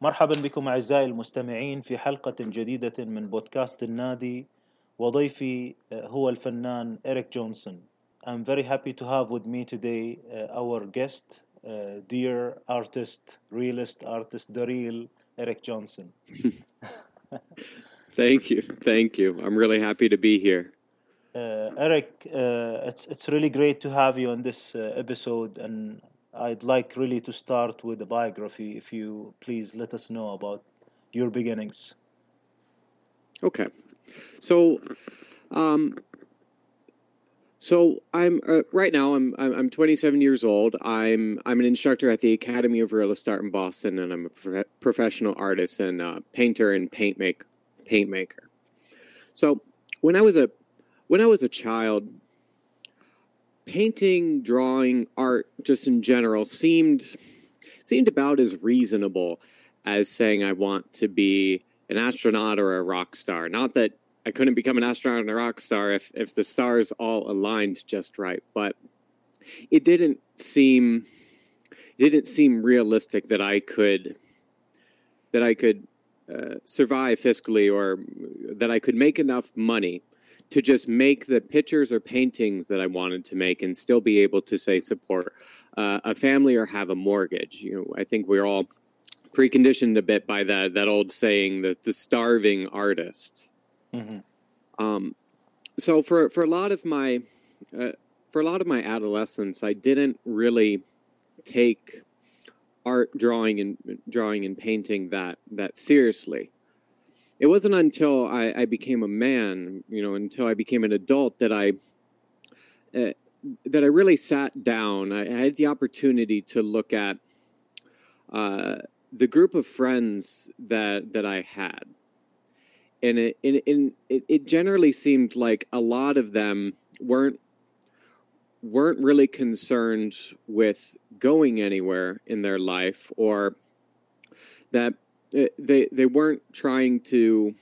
مرحبا بكم أعزائي المستمعين في حلقة جديدة من بودكاست النادي وضيفي هو الفنان إريك جونسون. I'm very happy to have with me today our guest, dear artist, realist artist, the real Eric Johnson. Thank you. Thank you. I'm really happy to be here. Eric, it's really great to have you on this episode, and I'd like really to start with a biography. If you please let us know about your beginnings. Okay. So, I'm right now. I'm 27 years old. I'm an instructor at the Academy of Realist Art in Boston, and I'm a professional artist and painter and paint maker. So when I was a child, painting, drawing, art, just in general, seemed about as reasonable as saying I want to be an astronaut or a rock star. Not that I couldn't become an astronaut and a rock star if the stars all aligned just right, but it didn't seem realistic that I could survive fiscally, or that I could make enough money to just make the pictures or paintings that I wanted to make and still be able to, say, support a family or have a mortgage. I think we're all preconditioned a bit by that old saying, the starving artist. Mm-hmm. So for a lot of my adolescence, I didn't really take art, drawing and painting that seriously. It wasn't until I became a man, until I became an adult, that I really sat down. I had the opportunity to look at the group of friends that I had, and it generally seemed like a lot of them weren't really concerned with going anywhere in their life, or that they weren't trying to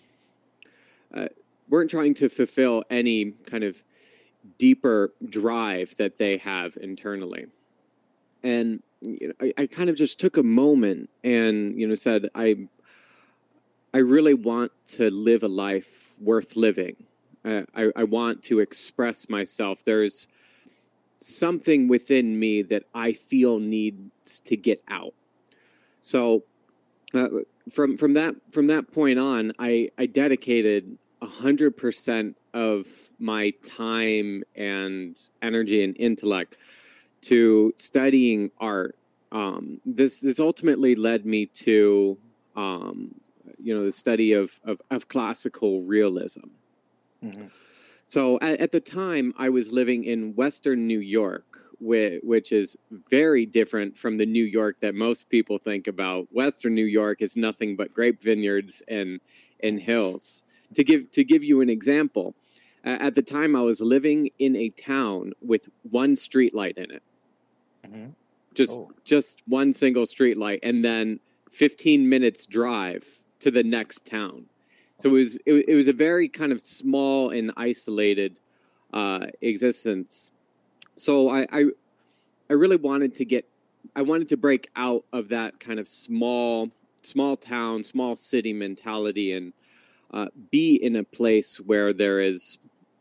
fulfill any kind of deeper drive that they have internally. And I kind of just took a moment and said, I really want to live a life worth living. I want to express myself. There's something within me that I feel needs to get out. So from that point on, I dedicated 100% of my time and energy and intellect to studying art. This ultimately led me to the study of classical realism. Mm-hmm. So at the time, I was living in Western New York, which is very different from the New York that most people think about. Western New York is nothing but grape vineyards and hills. To give you an example, at the time I was living in a town with one street light in it. Mm-hmm. Just one single street light, and then 15 minutes drive to the next town. So it was a very kind of small and isolated existence. So I really wanted to break out of that kind of small town, small city mentality, and be in a place where there is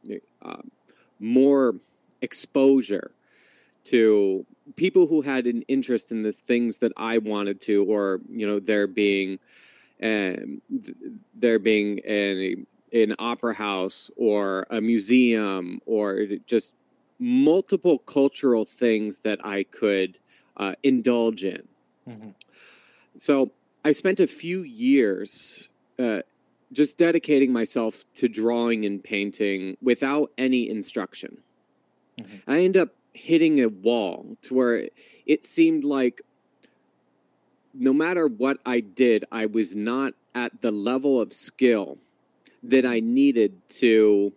more exposure to people who had an interest in the things that I wanted to, or there being an opera house or a museum, or just multiple cultural things that I could indulge in. Mm-hmm. So I spent a few years just dedicating myself to drawing and painting without any instruction. Mm-hmm. I ended up hitting a wall to where it seemed like no matter what I did, I was not at the level of skill that I needed to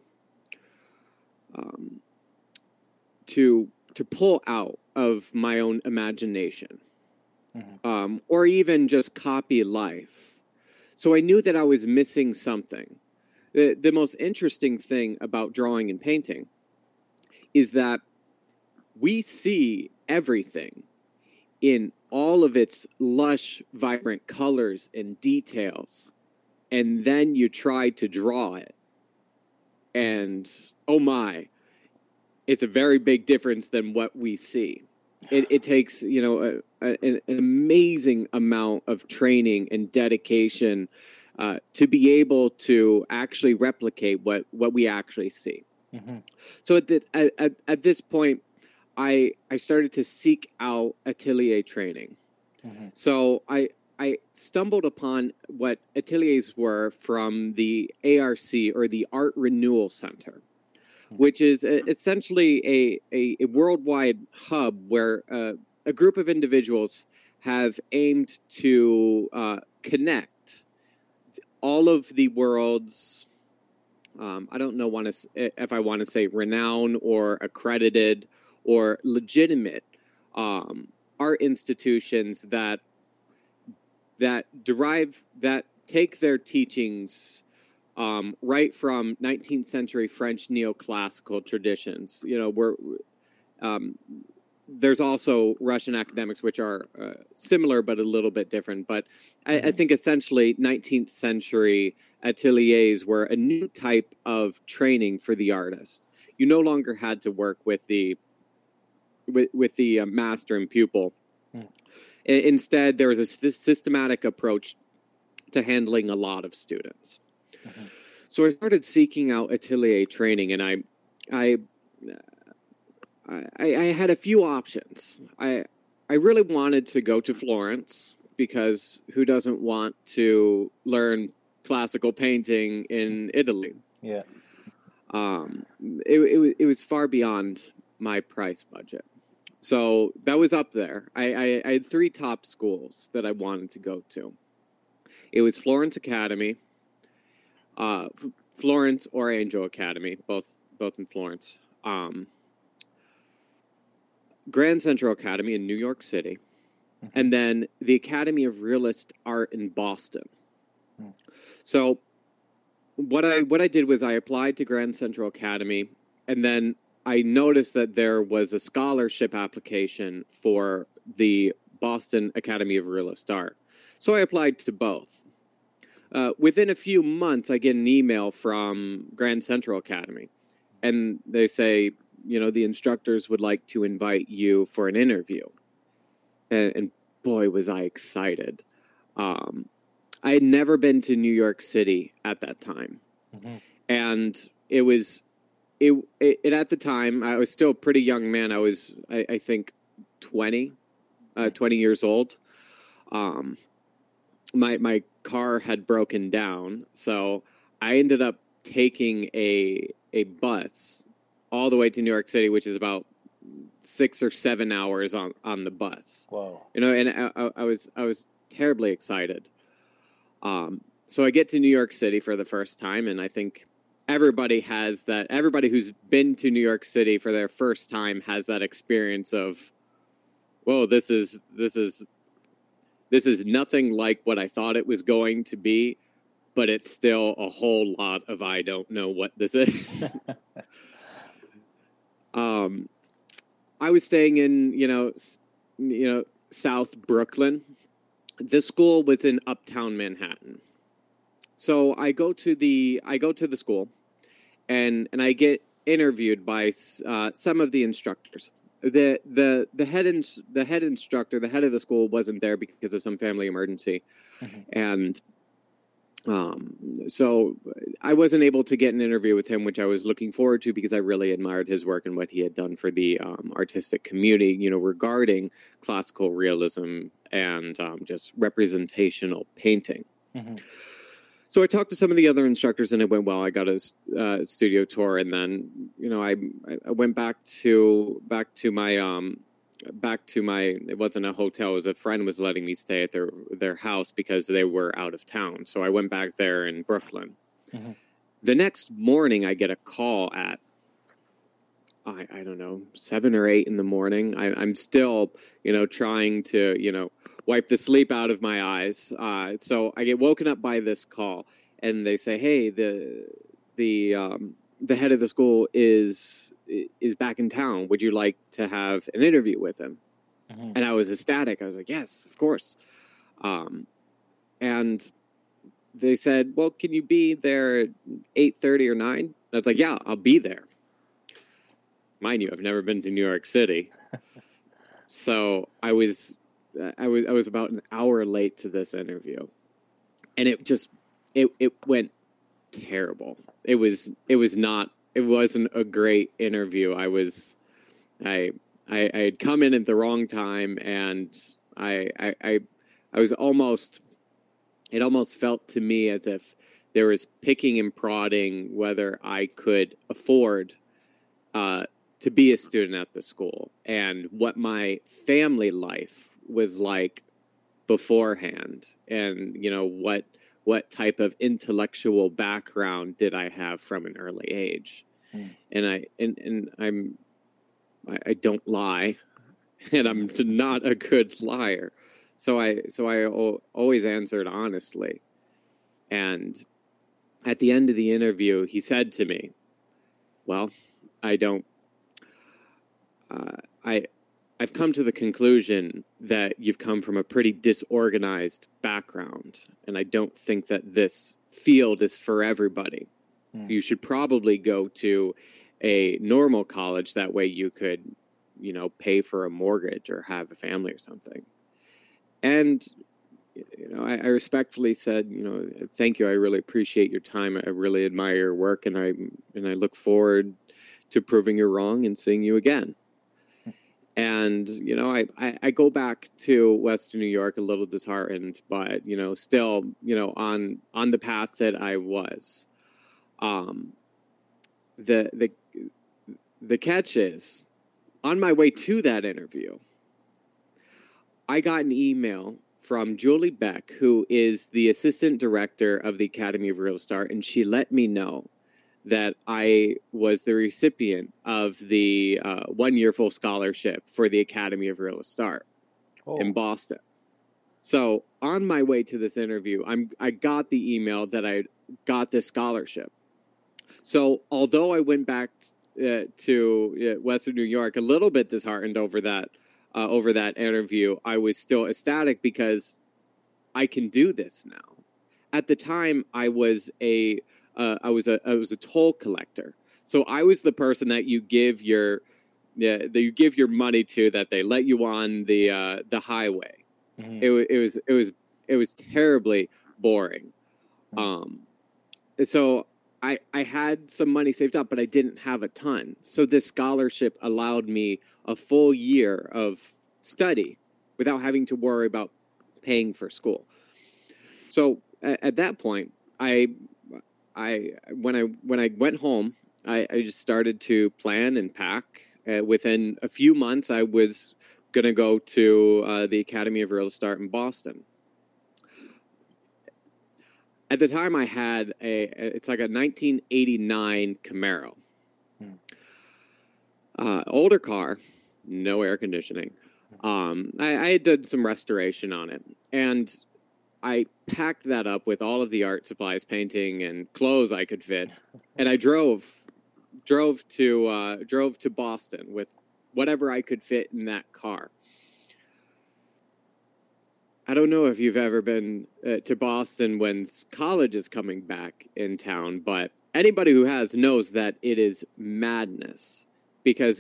pull out of my own imagination, mm-hmm. Or even just copy life. So I knew that I was missing something. The most interesting thing about drawing and painting is that we see everything in all of its lush, vibrant colors and details, and then you try to draw it, and oh my, it's a very big difference than what we see. It takes, you know, an amazing amount of training and dedication to be able to actually replicate what we actually see. Mm-hmm. So at this point, I started to seek out atelier training. Mm-hmm. So I stumbled upon what ateliers were from the ARC, or the Art Renewal Center, which is essentially a worldwide hub where a group of individuals have aimed to connect all of the world's, I don't know if I want to say renowned or accredited or legitimate art institutions that take their teachings right from 19th century French neoclassical traditions. You know, there's also Russian academics, which are similar but a little bit different. But I think essentially 19th century ateliers were a new type of training for the artist. You no longer had to work with the master and pupil. Instead, there was a systematic approach to handling a lot of students. Mm-hmm. So I started seeking out atelier training, and I had a few options. I really wanted to go to Florence, because who doesn't want to learn classical painting in Italy? Yeah. It was far beyond my price budget. So that was up there. I had three top schools that I wanted to go to. It was Florence Academy, Florence or Angel Academy, both in Florence. Grand Central Academy in New York City, and then the Academy of Realist Art in Boston. So what I did was I applied to Grand Central Academy, and then I noticed that there was a scholarship application for the Boston Academy of Realist Art. So I applied to both. Within a few months, I get an email from Grand Central Academy, and they say, you know, the instructors would like to invite you for an interview. And boy, was I excited. I had never been to New York City at that time. Mm-hmm. And it was... It at the time, I was still a pretty young man. I was, I think, 20 years old. My car had broken down, so I ended up taking a bus all the way to New York City, which is about 6 or 7 hours on the bus. Wow! You know, and I was terribly excited. So I get to New York City for the first time, and I think everybody has that. Everybody who's been to New York City for their first time has that experience of, whoa, this is nothing like what I thought it was going to be, but it's still a whole lot of I don't know what this is. I was staying in South Brooklyn. This school was in Uptown Manhattan. So I go to the school, and I get interviewed by some of the instructors. The head instructor, the head of the school, wasn't there because of some family emergency, and so I wasn't able to get an interview with him, which I was looking forward to because I really admired his work and what he had done for the artistic community, you know, regarding classical realism and just representational painting. Mm-hmm. So I talked to some of the other instructors, and it went well. I got a studio tour, and then, you know, I went back to my it wasn't a hotel, it was a friend was letting me stay at their house because they were out of town. So I went back there in Brooklyn. Mm-hmm. The next morning, I get a call at I don't know, 7 or 8 in the morning. I'm still, you know, trying to, you know, wipe the sleep out of my eyes. So I get woken up by this call, and they say, "Hey, the head of the school is back in town. Would you like to have an interview with him?" Mm-hmm. And I was ecstatic. I was like, yes, of course. And they said, well, can you be there at 8:30 or 9? And I was like, yeah, I'll be there. Mind you, I've never been to New York City. So I was about an hour late to this interview. And it went terrible. It wasn't a great interview. I had come in at the wrong time, and I was almost, it almost felt to me as if there was picking and prodding whether I could afford to be a student at the school and what my family life was like beforehand, and what type of intellectual background did I have from an early age. And I don't lie, and I'm not a good liar. So I always answered honestly. And at the end of the interview, he said to me, well, I've come to the conclusion that you've come from a pretty disorganized background, and I don't think that this field is for everybody. So you should probably go to a normal college. That way you could, pay for a mortgage or have a family or something. And, I respectfully said, thank you. I really appreciate your time. I really admire your work, and I look forward to proving you wrong and seeing you again. And, I go back to Western New York a little disheartened, but, still, on the path that I was. The catch is, on my way to that interview, I got an email from Julie Beck, who is the assistant director of the Academy of Real Start, and she let me know that I was the recipient of the 1-year full scholarship for the Academy of Real Start in Boston. So on my way to this interview, I got the email that I got this scholarship. So although I went back to Western New York a little bit disheartened over that interview, I was still ecstatic because I can do this now. At the time, I was a toll collector. So I was the person that you give your money to, that they let you on the highway. Mm-hmm. It was terribly boring. So I had some money saved up, but I didn't have a ton. So this scholarship allowed me a full year of study without having to worry about paying for school. So at that point, when I went home, I just started to plan and pack. Within a few months, I was going to go to the Academy of Real Start in Boston. At the time, I had it's like a 1989 Camaro. Older car, no air conditioning. I had done some restoration on it, and I packed that up with all of the art supplies, painting, and clothes I could fit, and I drove to Boston with whatever I could fit in that car. I don't know if you've ever been to Boston when college is coming back in town, but anybody who has knows that it is madness, because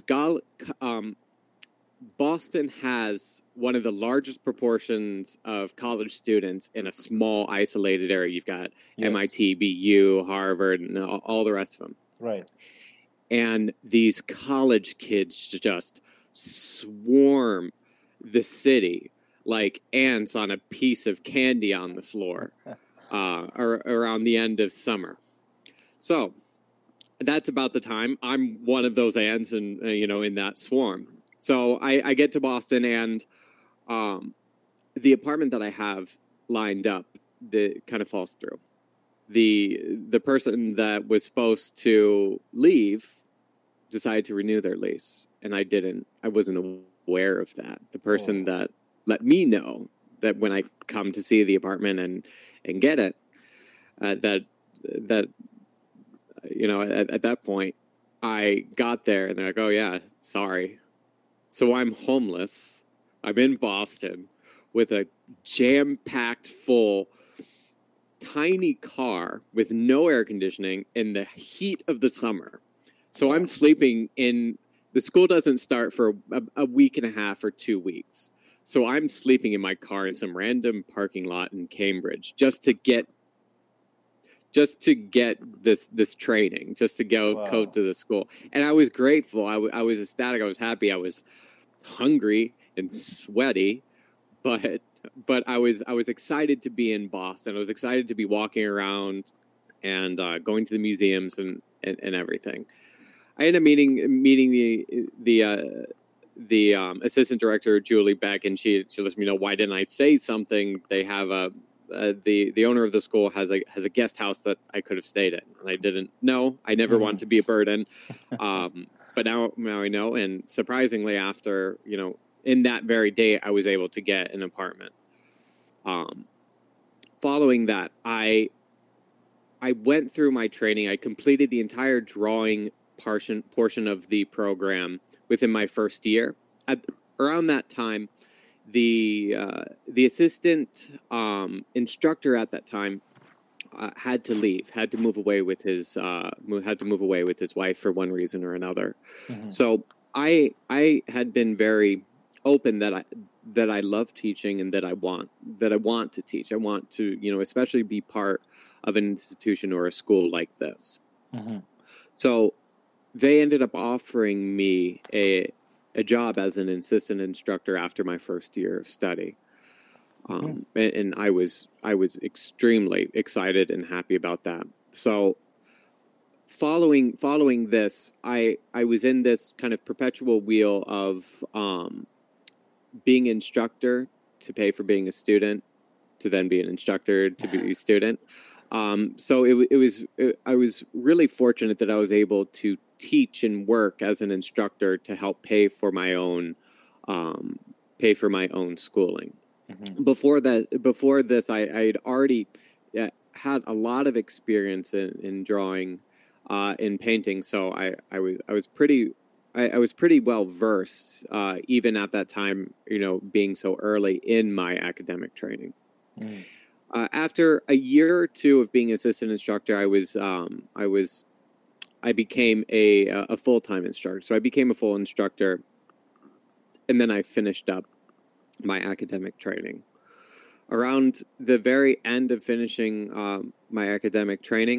Boston has one of the largest proportions of college students in a small, isolated area. You've got MIT, BU, Harvard, and all the rest of them. Right. And these college kids just swarm the city like ants on a piece of candy on the floor around the end of summer. So that's about the time I'm one of those ants, and in that swarm. So I get to Boston, and the apartment that I have lined up, that kind of falls through. The person that was supposed to leave decided to renew their lease, and I wasn't aware of that. The person that let me know that when I come to see the apartment and get it, that at that point I got there and they're like, oh yeah, sorry. So I'm homeless I'm in Boston with a jam-packed full tiny car with no air conditioning in the heat of the summer. So I'm sleeping in, the school doesn't start for a week and a half or 2 weeks. So I'm sleeping in my car in some random parking lot in Cambridge just to get this training, just to go to the school. And I was grateful. I was ecstatic. I was happy. I was hungry and sweaty, but I was excited to be in Boston. I was excited to be walking around and going to the museums and everything. I ended up meeting the assistant director, Julie Beck, and she let me know, why didn't I say something? They have the owner of the school has a guest house that I could have stayed in, and I didn't know. I never want to be a burden, but now I know. And surprisingly, after in that very day, I was able to get an apartment. Following that, I went through my training. I completed the entire drawing portion of the program within my first year. Around that time, the assistant instructor at that time had to leave, had to move away with his wife for one reason or another. Mm-hmm. So I had been very open that I love teaching and that I want to teach. I want to especially be part of an institution or a school like this. Mm-hmm. So they ended up offering me a job as an assistant instructor after my first year of study. And I was extremely excited and happy about that. So following this, I was in this kind of perpetual wheel of being instructor to pay for being a student, to then be an instructor to be a student. So I was really fortunate that I was able to teach and work as an instructor to help pay for my own schooling. Mm-hmm. Before this, I had already had a lot of experience in drawing, in painting. So I was pretty well versed, even at that time, being so early in my academic training. Mm. After a year or two of being assistant instructor, I became a full-time instructor. So I became a full instructor, and then I finished up my academic training. Around the very end of finishing my academic training,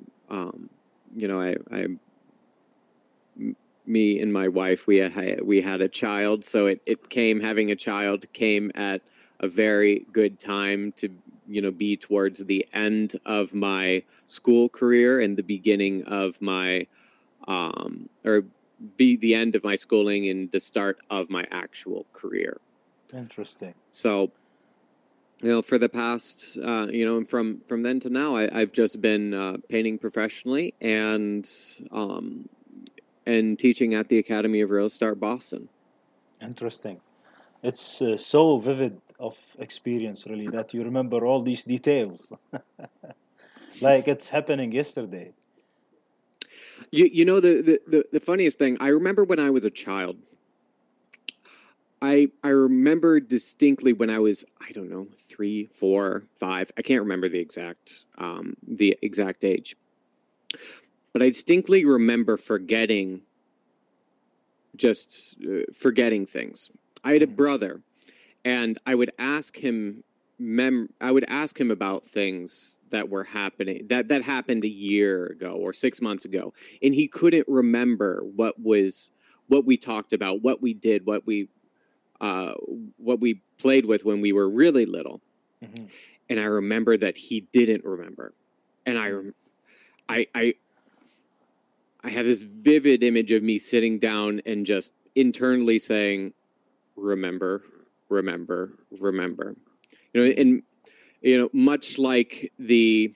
me and my wife, we had a child. So having a child came at a very good time to be towards the end of my school career and the beginning of my or be the end of my schooling and the start of my actual career. Interesting. So for the past from then to now, I've just been painting professionally and teaching at the Academy of Real Estate Boston. Interesting. It's so vivid of experience, really, that you remember all these details. Like it's happening yesterday. The funniest thing, I remember when I was a child, I remember distinctly when I was, 3, 4, 5. I can't remember the exact age, but I distinctly remember forgetting things. I had a brother, and I would ask him about things that were happening that happened a year ago or 6 months ago, and he couldn't remember what we talked about, what we did, what we played with when we were really little. Mm-hmm. And I remember that he didn't remember, and I have this vivid image of me sitting down and just internally saying, remember, remember, remember. And much like the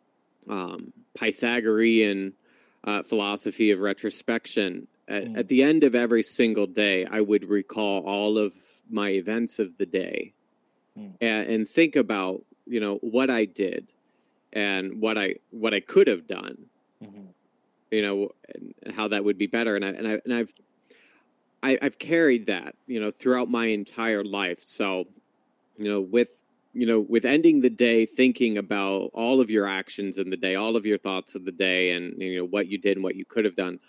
Pythagorean philosophy of retrospection, at the end of every single day, I would recall all of my events of the day and think about what I did and what I could have done, and how that would be better. And I've carried that, throughout my entire life. So, with ending the day thinking about all of your actions in the day, all of your thoughts of the day, and what you did and what you could have done,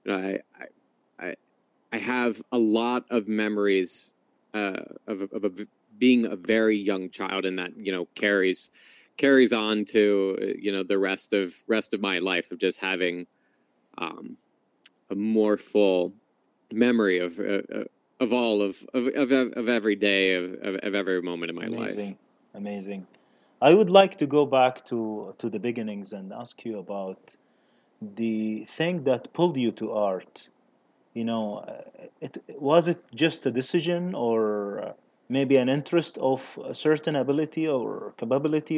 I have a lot of memories of being a very young child, and that carries on to the rest of my life, of just having a more full memory of all of every day of every moment in my life. Amazing. I would like to go back to the beginnings and ask you about the thing that pulled you to art. Was it just a decision, or maybe an interest of a certain ability or capability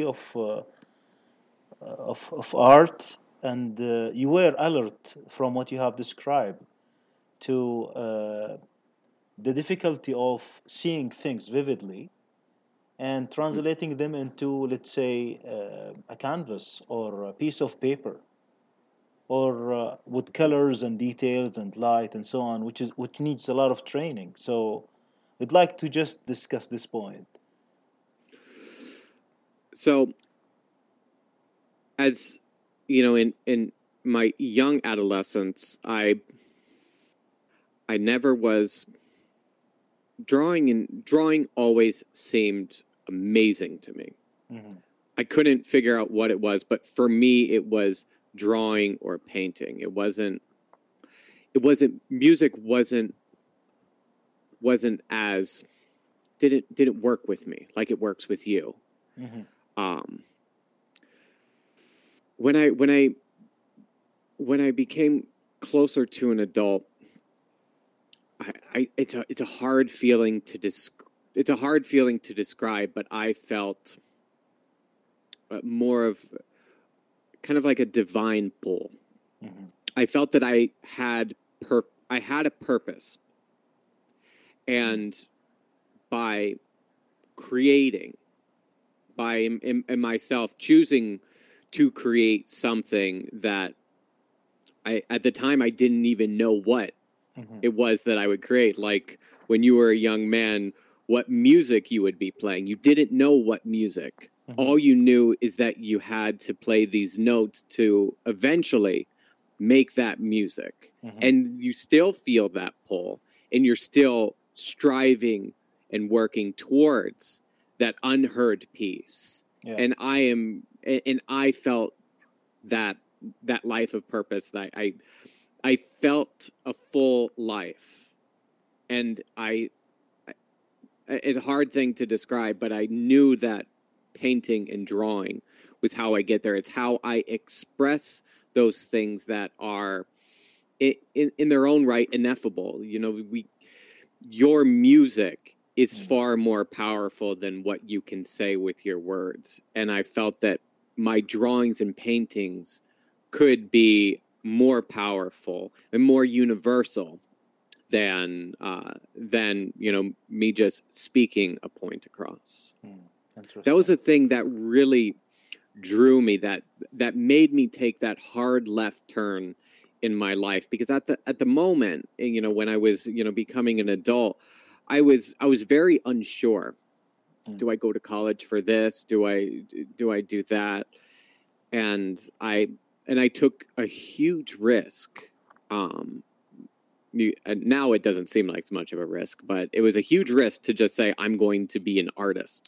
of art, and you were alert from what you have described to the difficulty of seeing things vividly and translating them into, let's say, a canvas or a piece of paper, or with colors and details and light and so on, which needs a lot of training. So I'd like to just discuss this point. So, as in my young adolescence, I never was drawing, and drawing always seemed amazing to me. Mm-hmm. I couldn't figure out what it was, but for me, it was drawing or painting. It wasn't music wasn't as didn't work with me like it works with you. Mm-hmm. When I became closer to an adult, it's a hard feeling to describe, but I felt more of kind of like a divine pull. Mm-hmm. I felt that I had a purpose, and by creating, in myself choosing to create something that at the time I didn't even know what Mm-hmm. it was that I would create. Like when you were a young man, what music you would be playing. You didn't know what music. Mm-hmm. All you knew is that you had to play these notes to eventually make that music. Mm-hmm. And you still feel that pull, and you're still striving and working towards that unheard piece. Yeah. And I felt that life of purpose, that I felt a full life. And it's a hard thing to describe, but I knew that painting and drawing was how I get there. It's how I express those things that are in their own right ineffable. Your music is far more powerful than what you can say with your words. And I felt that my drawings and paintings could be more powerful and more universal than me just speaking a point across. That was a thing that really drew me, that made me take that hard left turn in my life, because at the moment, when I was becoming an adult, I was very unsure. Do I go to college for this? Do I do that? And I took a huge risk. Now it doesn't seem like much of a risk, but it was a huge risk to just say I'm going to be an artist,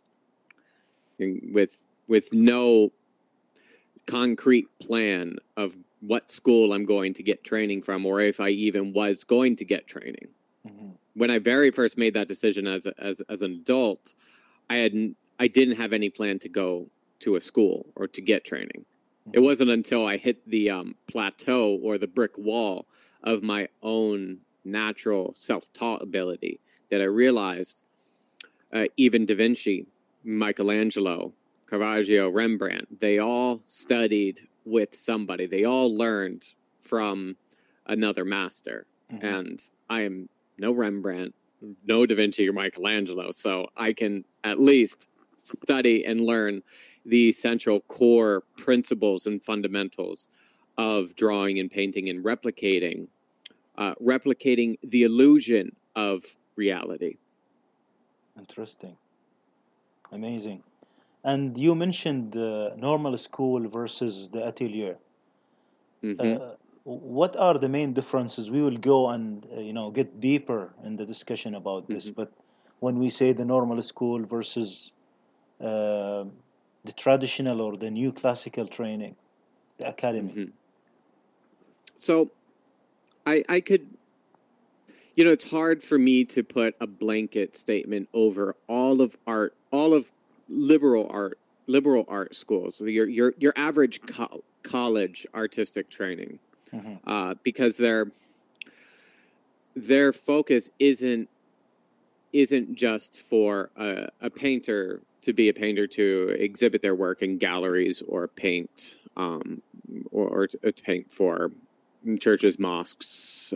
with no concrete plan of what school I'm going to get training from, or if I even was going to get training. Mm-hmm. When I very first made that decision as an adult, I didn't have any plan to go to a school or to get training. Mm-hmm. It wasn't until I hit the plateau or the brick wall of my own natural self-taught ability that I realized even Da Vinci, Michelangelo, Caravaggio, Rembrandt, they all studied with somebody. They all learned from another master. Mm-hmm. And I am no Rembrandt, no Da Vinci or Michelangelo, so I can at least study and learn the essential core principles and fundamentals of drawing and painting and replicating replicating the illusion of reality. Interesting. Amazing. And you mentioned normal school versus the atelier. Hmm. What are the main differences? We will go and get deeper in the discussion about this. Hmm. But when we say the normal school versus uh, the traditional or the new classical training, the academy. Hmm. So I could, it's hard for me to put a blanket statement over all of liberal art schools, so your average college artistic training, Mm-hmm. Because their focus isn't just for a painter to be a painter to exhibit their work in galleries or paint, or to paint for churches, mosques,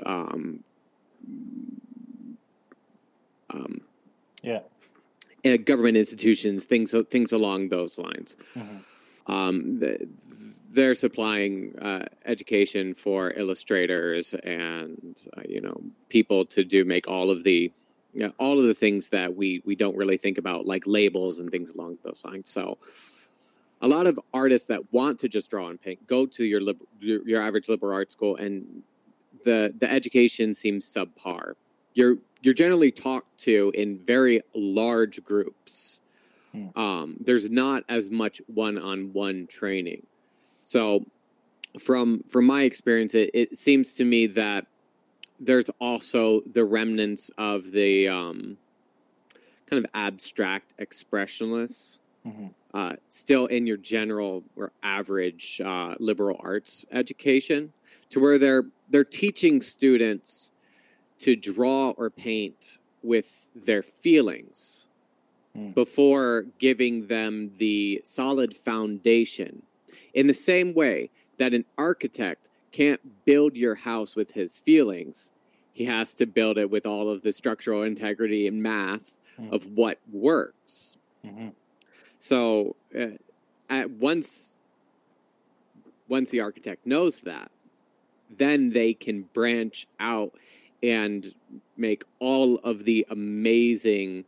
Yeah. government institutions, things along those lines. Mm-hmm. They're supplying education for illustrators and people to make all of the things that we don't really think about, like labels and things along those lines. So a lot of artists that want to just draw and paint go to your average liberal arts school, and the education seems subpar. You're generally talked to in very large groups. There's not as much one-on-one training. So from my experience, it seems to me that there's also the remnants of the kind of abstract expressionists still in your general or average liberal arts education, to where they're teaching students to draw or paint with their feelings before giving them the solid foundation. In the same way that an architect can't build your house with his feelings, he has to build it with all of the structural integrity and math of what works. So once the architect knows that, then they can branch out and make all of the amazing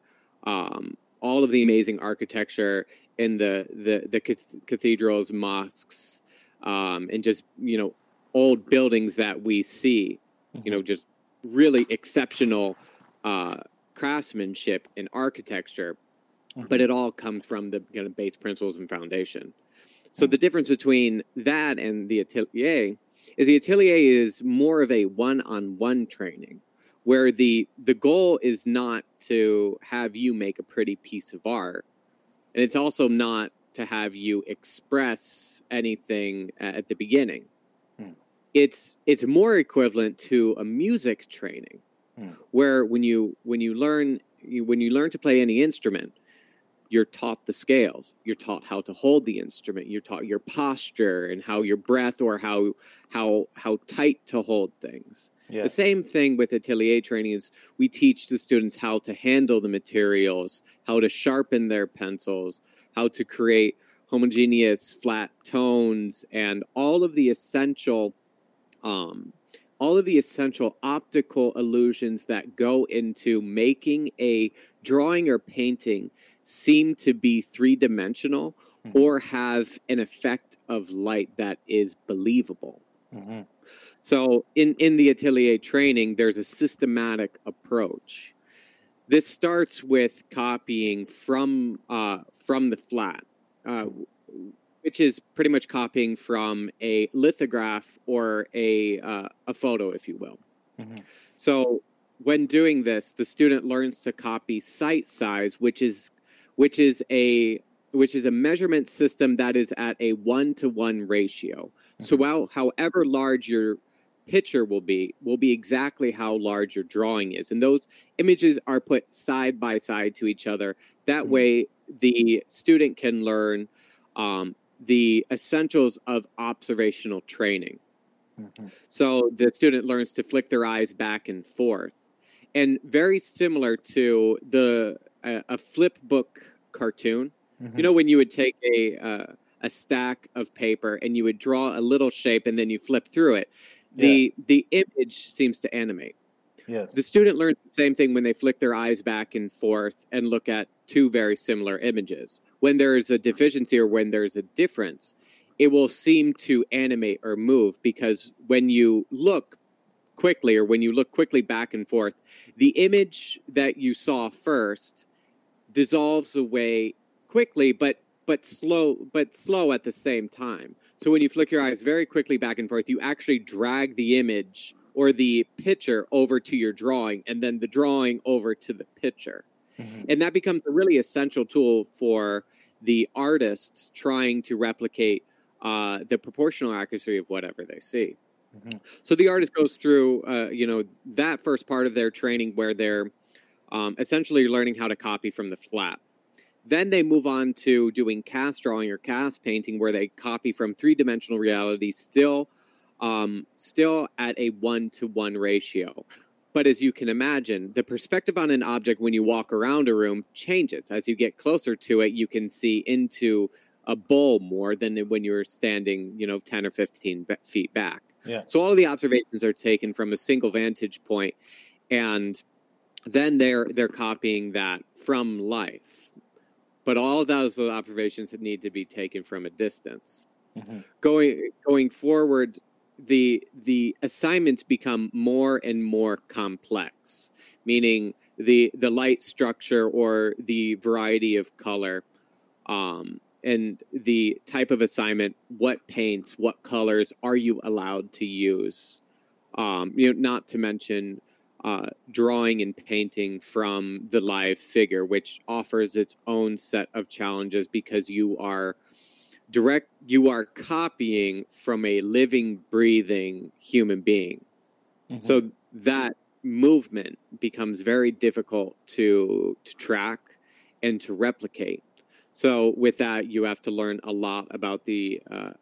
architecture in the cathedrals, mosques, and just old buildings that we see, just really exceptional craftsmanship and architecture, but it all comes from the base principles and foundation. So the difference between that and the atelier is the atelier is more of a one-on-one training, where the goal is not to have you make a pretty piece of art, and it's also not to have you express anything at the beginning. It's more equivalent to a music training, where when you learn to play any instrument, you're taught the scales. You're taught how to hold the instrument. You're taught your posture and how your breath, or how tight to hold things. Yeah. The same thing with atelier training is we teach the students how to handle the materials, how to sharpen their pencils, how to create homogeneous flat tones, and all of the essential optical illusions that go into making a drawing or painting seem to be three-dimensional or have an effect of light that is believable. So in the atelier training, there's a systematic approach. This starts with copying from the flat, which is pretty much copying from a lithograph or a photo, if you will. So when doing this, the student learns to copy sight size, which is a measurement system that is at a 1-to-1 ratio. So however large your picture will be exactly how large your drawing is. And those images are put side by side to each other. That way, the student can learn the essentials of observational training. So the student learns to flick their eyes back and forth. And very similar to a flip book cartoon, when you would take a stack of paper and you would draw a little shape and then you flip through it. the image seems to animate. Yes. The student learns the same thing when they flick their eyes back and forth and look at two very similar images. When there's a deficiency or when there's a difference, it will seem to animate or move, because when you look quickly or when you look quickly back and forth, the image that you saw first dissolves away quickly, but slow at the same time. So when you flick your eyes very quickly back and forth, you actually drag the image or the picture over to your drawing, and then the drawing over to the picture. Mm-hmm. And that becomes a really essential tool for the artists trying to replicate the proportional accuracy of whatever they see. Mm-hmm. So the artist goes through, that first part of their training where they're essentially learning how to copy from the flap. Then they move on to doing cast drawing or cast painting, where they copy from three-dimensional reality, still at a 1-to-1 ratio. But as you can imagine, the perspective on an object when you walk around a room changes. As you get closer to it, you can see into a bowl more than when you're standing, 10 or 15 feet back. Yeah. So all of the observations are taken from a single vantage point, and then they're copying that from life. But all of those observations need to be taken from a distance. Mm-hmm. Going forward, the assignments become more and more complex, meaning the light structure or the variety of color, and the type of assignment, what paints, what colors are you allowed to use? Not to mention drawing and painting from the live figure, which offers its own set of challenges, because you are copying from a living, breathing human being. Mm-hmm. So that movement becomes very difficult to track and to replicate. So with that, you have to learn a lot about the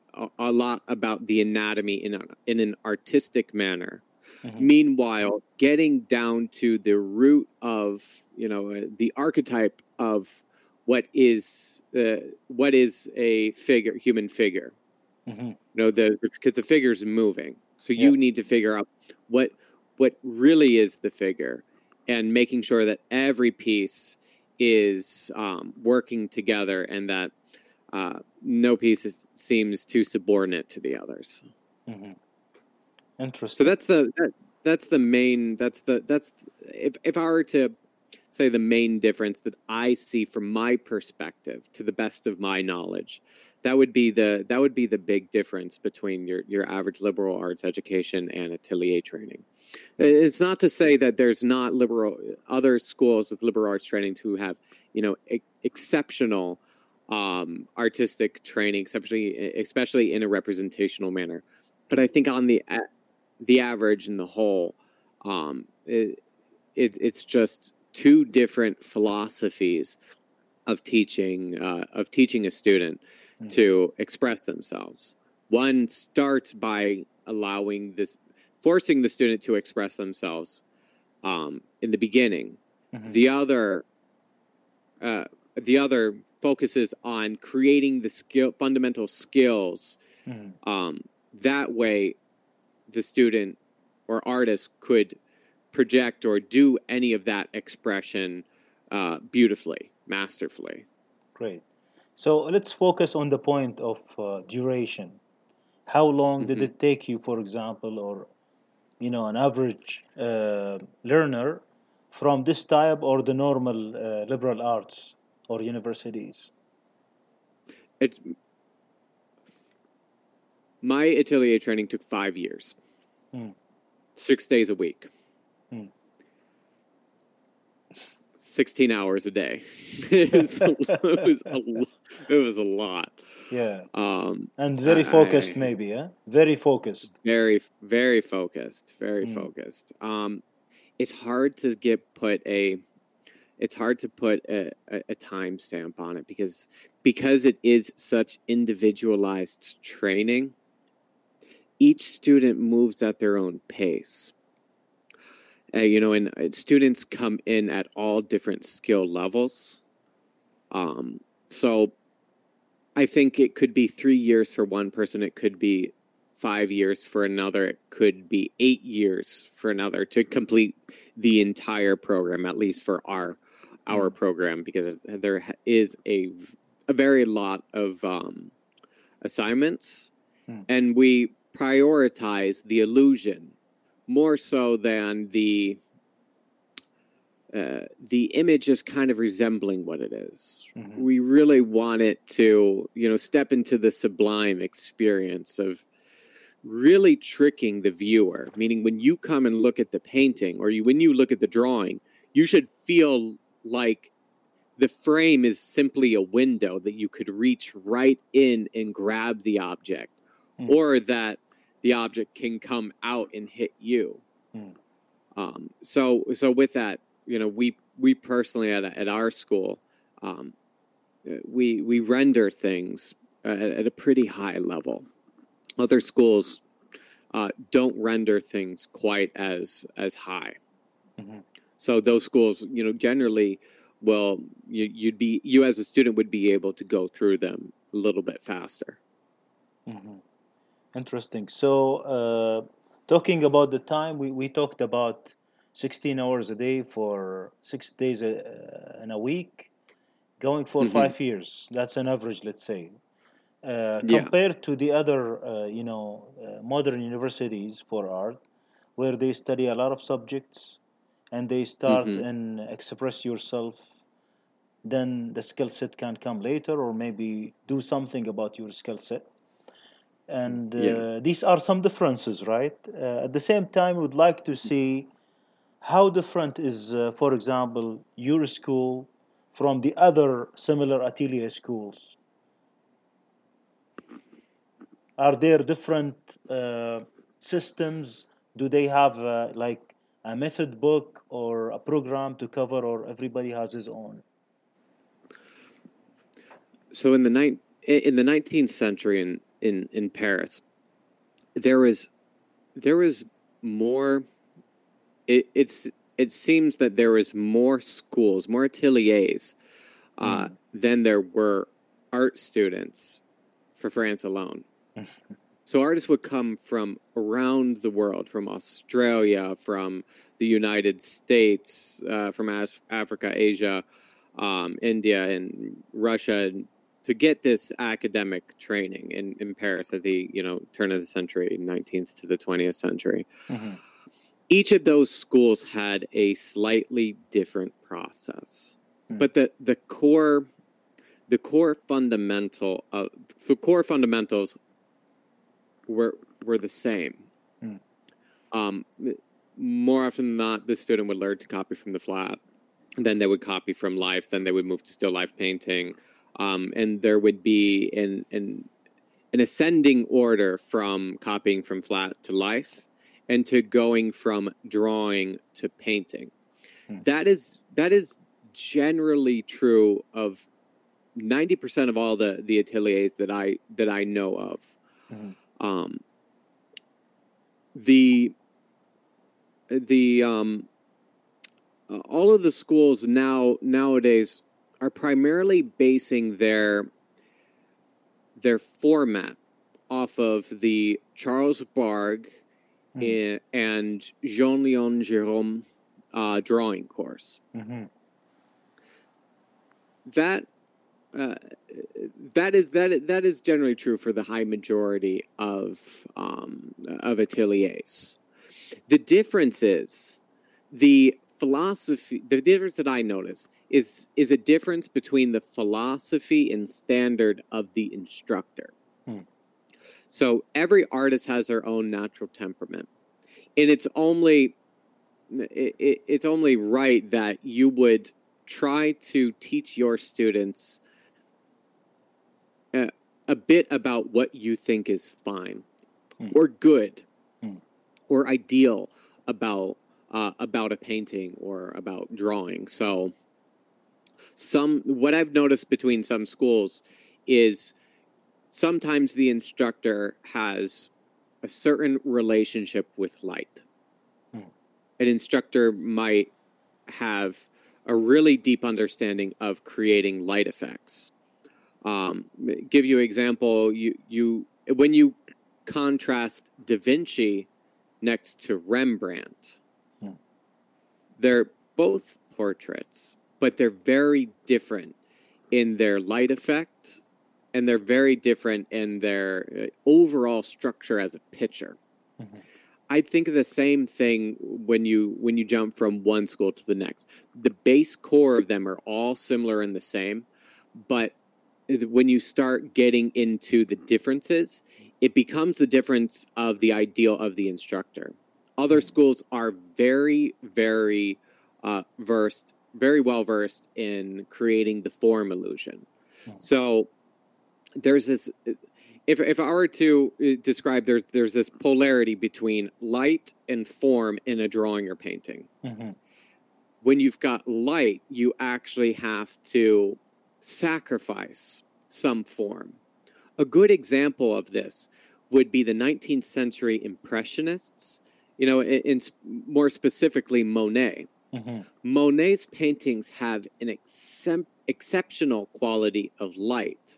anatomy in an artistic manner. Mm-hmm. Meanwhile, getting down to the root of the archetype of what is a figure, human figure. Mm-hmm. Because the figure is moving, so you need to figure out what really is the figure, and making sure that every piece is working together, and that no piece seems too subordinate to the others. Mm-hmm. Interesting. So that's the main. If I were to say the main difference that I see from my perspective, to the best of my knowledge, that would be the big difference between your average liberal arts education and atelier training. It's not to say that there's not other schools with liberal arts training who have exceptional artistic training, especially in a representational manner. But I think on the average and the whole, it's just two different philosophies of teaching a student to express themselves. One starts by forcing the student to express themselves in the beginning. Mm-hmm. The other focuses on creating the fundamental skills. Mm-hmm. That way, the student or artist could project or do any of that expression beautifully, masterfully. Great. So let's focus on the point of duration. How long did it take you, for example, or an average learner from this type or the normal liberal arts or universities? My atelier training took 5 years. 6 days a week. 16 hours a day. It was a lot. Yeah. And very focused, maybe, yeah? Very focused. Very, very focused. Very focused. It's hard to put a timestamp on it, because it is such individualized training. Each student moves at their own pace. And students come in at all different skill levels. So I think it could be 3 years for one person. It could be 5 years for another. It could be 8 years for another to complete the entire program, at least for our program, because there is a very lot of assignments, and we prioritize the illusion more so than the image is kind of resembling what it is. We really want it to, step into the sublime experience of really tricking the viewer. Meaning, when you come and look at the painting, or when you look at the drawing, you should feel like the frame is simply a window that you could reach right in and grab the object, or that the object can come out and hit you. So with that, we personally at our school, we render things at a pretty high level. Other schools don't render things quite as high. So those schools, generally, well, you as a student would be able to go through them a little bit faster. Interesting. So, talking about the time, we talked about 16 hours a day for 6 days in a week, going for 5 years. That's an average, let's say. Compared to the other, modern universities for art, where they study a lot of subjects and they start and express yourself, then the skill set can come later, or maybe do something about your skill set. And these are some differences, right? At the same time, we would like to see how different is, for example, your school from the other similar atelier schools. Are there different systems? Do they have like a method book or a program to cover, or everybody has his own? So in the 19th century in Paris, there was more. It seems that there was more schools, more ateliers, than there were art students for France alone. So artists would come from around the world, from Australia, from the United States, from Africa, Asia, India, and Russia, to get this academic training in Paris at the turn of the century, 19th to the 20th century. Each of those schools had a slightly different process, but the core fundamentals were the same. More often than not, the student would learn to copy from the flat, and then they would copy from life, then they would move to still life painting, and there would be an ascending order from copying from flat to life, and to going from drawing to painting. That is generally true of 90% of all the ateliers that I know of. All of the schools nowadays are primarily basing their format off of the Charles Bargue and Jean-Léon Gérôme drawing course. That is generally true for the high majority of ateliers. The difference is the philosophy. The difference that I notice is a difference between the philosophy and standard of the instructor. So every artist has their own natural temperament, and it's only right that you would try to teach your students a bit about what you think is fine or good or ideal about a painting or about drawing. So what I've noticed between some schools is sometimes the instructor has a certain relationship with light. An instructor might have a really deep understanding of creating light effects. Give you an example. You when you contrast Da Vinci next to Rembrandt. Hmm. They're both portraits, but they're very different in their light effect, and they're very different in their overall structure as a picture. Mm-hmm. I think of the same thing when you jump from one school to the next. The base core of them are all similar and the same, but when you start getting into the differences, it becomes the difference of the ideal of the instructor. Other schools are very, very very well versed in creating the form illusion. So there's this. If I were to describe, there's this polarity between light and form in a drawing or painting. Mm-hmm. When you've got light, you actually have to sacrifice some form. A good example of this would be the 19th century Impressionists, more specifically Monet. Mm-hmm. Monet's paintings have an exceptional quality of light.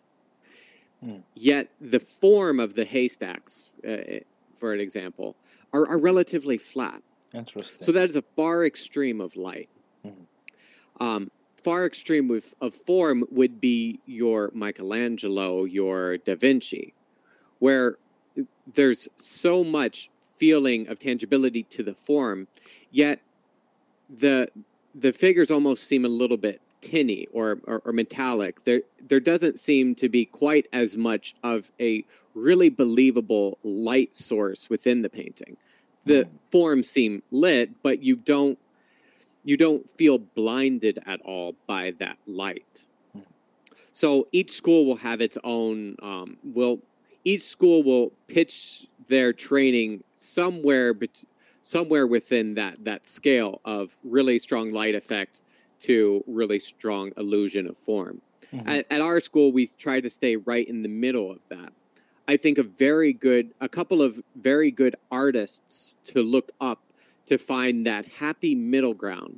Yet the form of the haystacks, for an example, are relatively flat. Interesting. So that is a far extreme of light. Mm-hmm. Far extreme of form would be your Michelangelo, your Da Vinci, where there's so much feeling of tangibility to the form, yet the figures almost seem a little bit tinny or metallic. There doesn't seem to be quite as much of a really believable light source within the painting. The forms seem lit, but you don't feel blinded at all by that light. So each school will have its own. Each school will pitch their training somewhere within that scale of really strong light effect to really strong illusion of form. Mm-hmm. At our school, we try to stay right in the middle of that. I think a couple of very good artists to look up to find that happy middle ground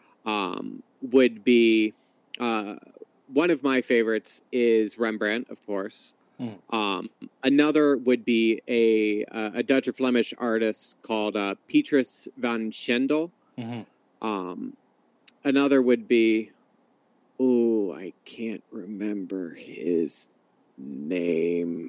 would be one of my favorites is Rembrandt, of course. Another would be a Dutch or Flemish artist called Petrus van Schendel. Mm-hmm. Another would be, I can't remember his name.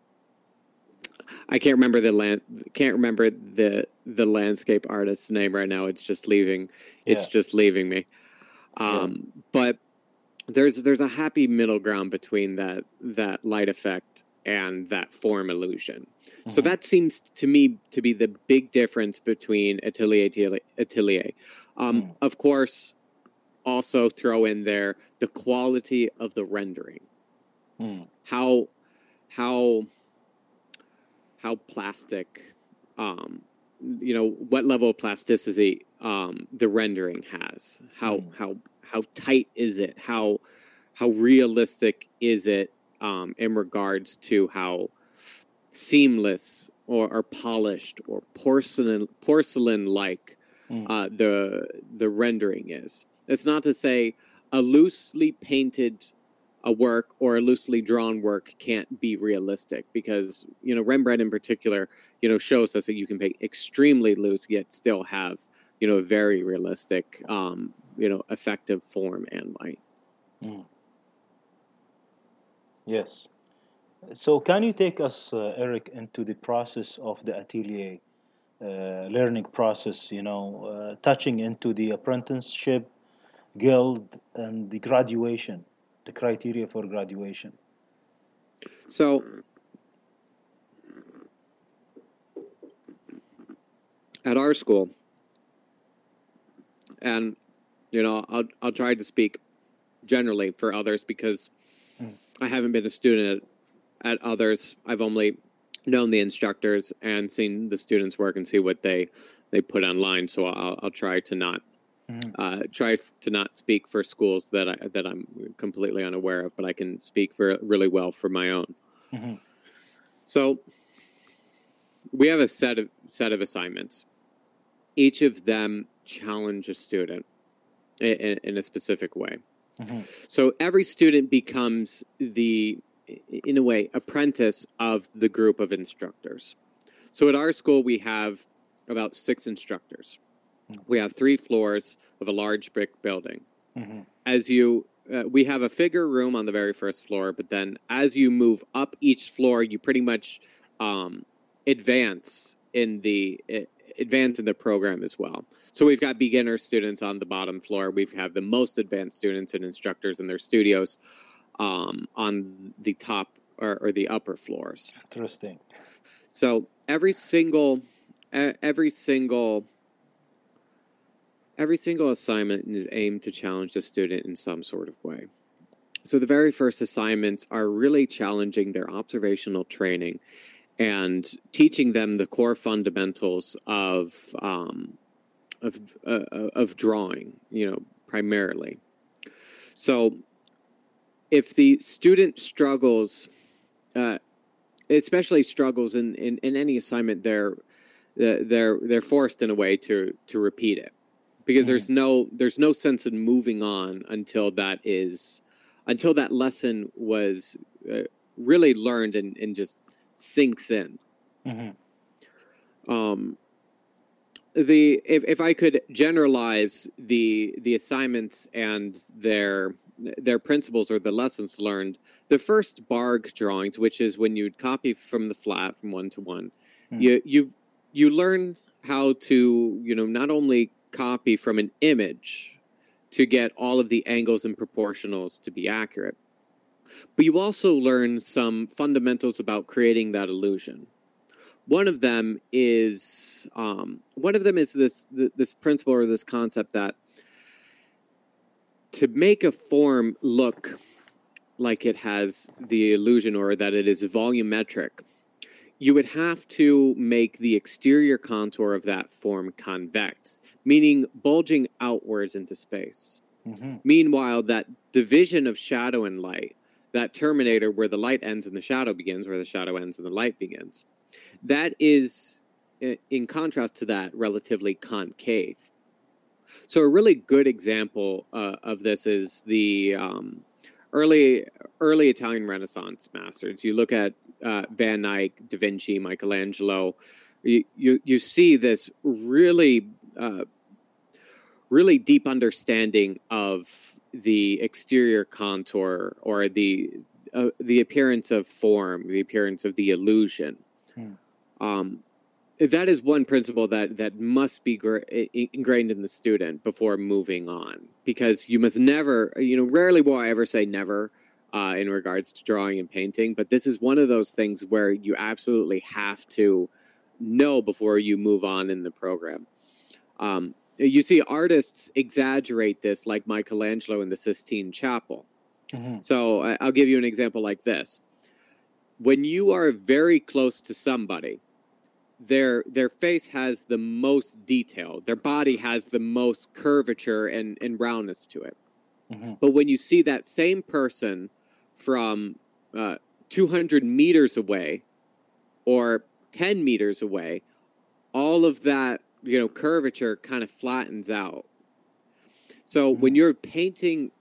I can't remember the landscape artist's name right now. It's just leaving. Yeah. It's just leaving me. But there's a happy middle ground between that light effect and that form illusion. Mm-hmm. So that seems to me to be the big difference between Atelier. Of course, also throw in there the quality of the rendering. How plastic, what level of plasticity the rendering has. How tight is it? How realistic is it in regards to how seamless or polished or porcelain like the rendering is. It's not to say a loosely painted work or a loosely drawn work can't be realistic, because Rembrandt in particular shows us that you can paint extremely loose yet still have very realistic effective form and light. Yes. So can you take us, Eric, into the process of the Atelier learning process, touching into the apprenticeship, guild, and the graduation, the criteria for graduation? So at our school, and I'll try to speak generally for others because I haven't been a student at others. I've only known the instructors and seen the students work and see what they put online. So I'll try to not speak for schools that I'm completely unaware of, but I can speak really well for my own. Mm-hmm. So we have a set of assignments. Each of them challenge a student in a specific way. Mm-hmm. So every student becomes the in a way, apprentice of the group of instructors. So at our school, we have about 6 instructors. We have 3 floors of a large brick building. Mm-hmm. We have a figure room on the very first floor, but then as you move up each floor, you pretty much advance in the program as well. So we've got beginner students on the bottom floor. We have the most advanced students and instructors in their studios on the top or the upper floors. Interesting. So every single assignment is aimed to challenge the student in some sort of way. So the very first assignments are really challenging their observational training and teaching them the core fundamentals of drawing, primarily. So if the student struggles, especially struggles in any assignment, they're forced in a way to repeat it, because there's no sense in moving on until that lesson was really learned and just sinks in. Mm-hmm. If I could generalize the assignments and their principles or the lessons learned, the first BARG drawings, which is when you'd copy from the flat from 1 to 1, you learn how to not only copy from an image to get all of the angles and proportionals to be accurate, but you also learn some fundamentals about creating that illusion. One of them is this principle or this concept that to make a form look like it has the illusion or that it is volumetric, you would have to make the exterior contour of that form convex, meaning bulging outwards into space. Mm-hmm. Meanwhile, that division of shadow and light, that terminator where the light ends and the shadow begins, where the shadow ends and the light begins, that is, in contrast to that, relatively concave. So a really good example of this is the early Italian Renaissance masters. You look at Van Eyck, Da Vinci, Michelangelo. You see this really deep understanding of the exterior contour or the appearance of form, the appearance of the illusion. That is one principle that must be ingrained in the student before moving on, because you must never, rarely will I ever say never in regards to drawing and painting, but this is one of those things where you absolutely have to know before you move on in the program. You see artists exaggerate this, like Michelangelo in the Sistine Chapel. Mm-hmm. So I'll give you an example like this. When you are very close to somebody, their face has the most detail. Their body has the most curvature and roundness to it. Mm-hmm. But when you see that same person from 200 meters away or 10 meters away, all of that, curvature kind of flattens out. So when you're painting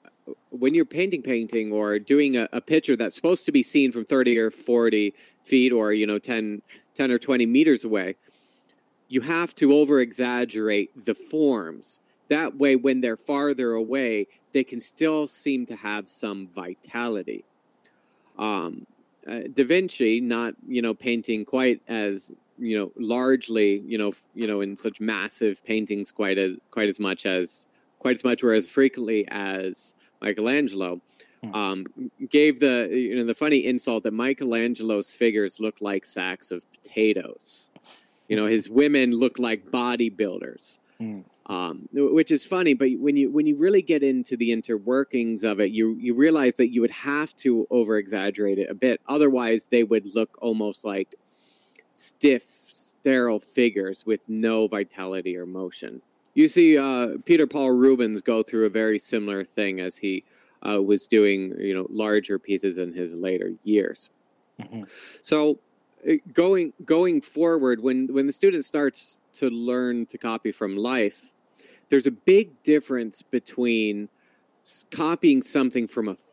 or doing a picture that's supposed to be seen from 30 or 40 feet or 10 or 20 meters away, you have to over exaggerate the forms. That way, when they're farther away, they can still seem to have some vitality. Da Vinci, not painting quite as largely in such massive paintings quite as much or as frequently as Michelangelo, gave the funny insult that Michelangelo's figures look like sacks of potatoes. His women look like bodybuilders, which is funny. But when you really get into the interworkings of it, you realize that you would have to over exaggerate it a bit. Otherwise, they would look almost like stiff, sterile figures with no vitality or motion. You see Peter Paul Rubens go through a very similar thing as he was doing, larger pieces in his later years. Mm-hmm. So going forward, when the student starts to learn to copy from life, there's a big difference between copying something from a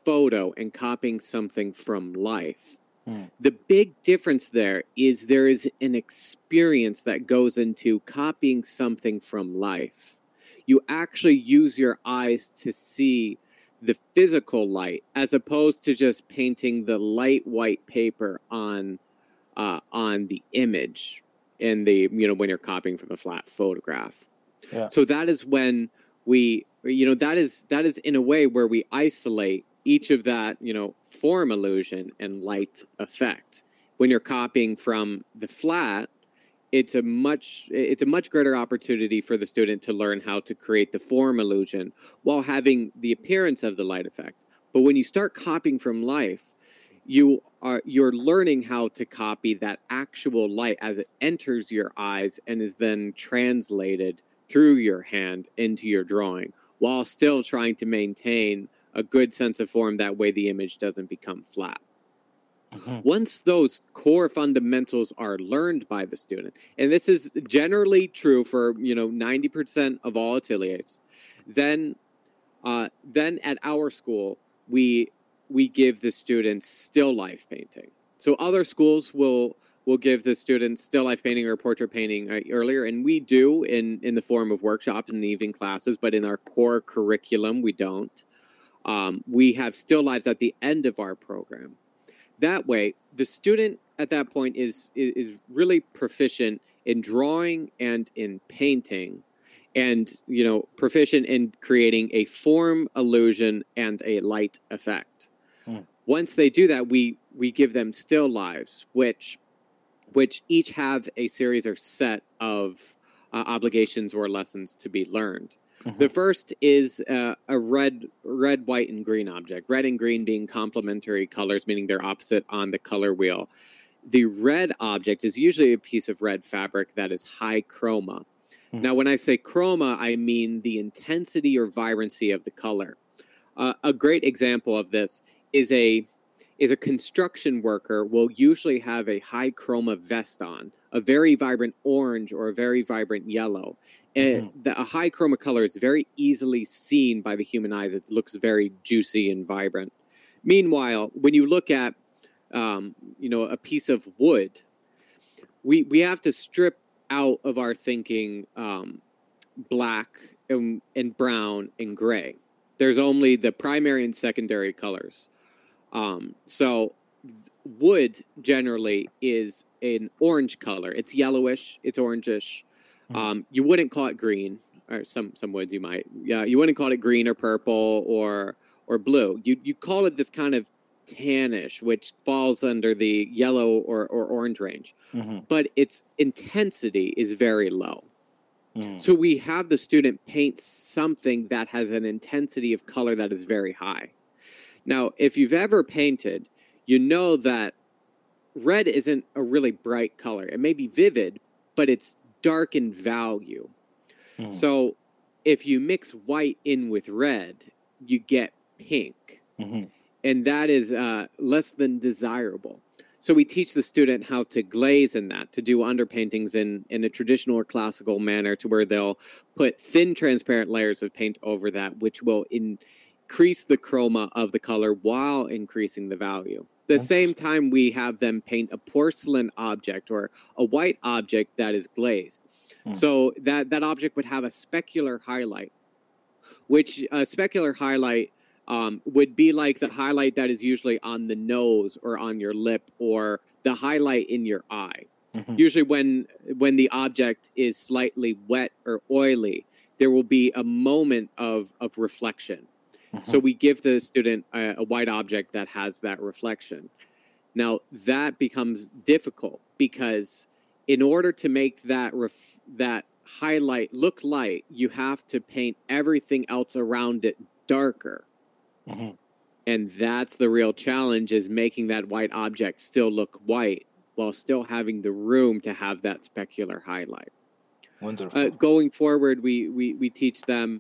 photo and copying something from life. Mm. The big difference there is an experience that goes into copying something from life. You actually use your eyes to see the physical light, as opposed to just painting the light white paper on the image and when you're copying from a flat photograph. Yeah. So that is when that is in a way where we isolate each of that, form illusion and light effect. When you're copying from the flat, it's a much greater opportunity for the student to learn how to create the form illusion while having the appearance of the light effect. But when you start copying from life, you're learning how to copy that actual light as it enters your eyes and is then translated through your hand into your drawing, while still trying to maintain a good sense of form. That way the image doesn't become flat. Mhm. Once those core fundamentals are learned by the student, and this is generally true for 90% of all ateliers, then at our school we give the students still life painting. So other schools will give the students still life painting or portrait painting earlier, and we do in the form of workshops and evening classes, but in our core curriculum we don't. We have still lives at the end of our program. That way, the student at that point is really proficient in drawing and in painting, and proficient in creating a form illusion and a light effect. Mm. Once they do that, we give them still lives, which each have a series or set of obligations or lessons to be learned. Mhm. The first is a red, white, and green object. Red and green being complementary colors, meaning they're opposite on the color wheel. The red object is usually a piece of red fabric that is high chroma. Mhm. Now, when I say chroma, I mean the intensity or vibrancy of the color. A great example of this is a construction worker will usually have a high chroma vest on, a very vibrant orange or a very vibrant yellow. A high chroma color is very easily seen by the human eyes. It looks very juicy and vibrant. Meanwhile, when you look at a piece of wood, we have to strip out of our thinking black and brown and gray. There's only the primary and secondary colors. So wood generally is an orange color. It's yellowish, it's orangish. You wouldn't call it green, or some woods you might. Yeah, you wouldn't call it green or purple or blue. You call it this kind of tannish, which falls under the yellow or orange range. Mm-hmm. But its intensity is very low. Mm. So we have the student paint something that has an intensity of color that is very high. Now, if you've ever painted, you know that red isn't a really bright color. It may be vivid, but it's dark in value. Mm. So if you mix white in with red, you get pink. Mm-hmm. And that is less than desirable. So we teach the student how to glaze in that, to do underpaintings in a traditional or classical manner, to where they'll put thin transparent layers of paint over that, which will increase the chroma of the color while increasing the value. At the same time, we have them paint a porcelain object or a white object that is glazed. Mm. So that object would have a specular highlight, which a specular highlight would be like the highlight that is usually on the nose or on your lip, or the highlight in your eye. Mm-hmm. Usually when the object is slightly wet or oily, there will be a moment of reflection. Mm-hmm. So we give the student a white object that has that reflection. Now, that becomes difficult because in order to make that highlight look light, you have to paint everything else around it darker. Mm-hmm. And that's the real challenge, is making that white object still look white while still having the room to have that specular highlight. Wonderful. Going forward, we teach them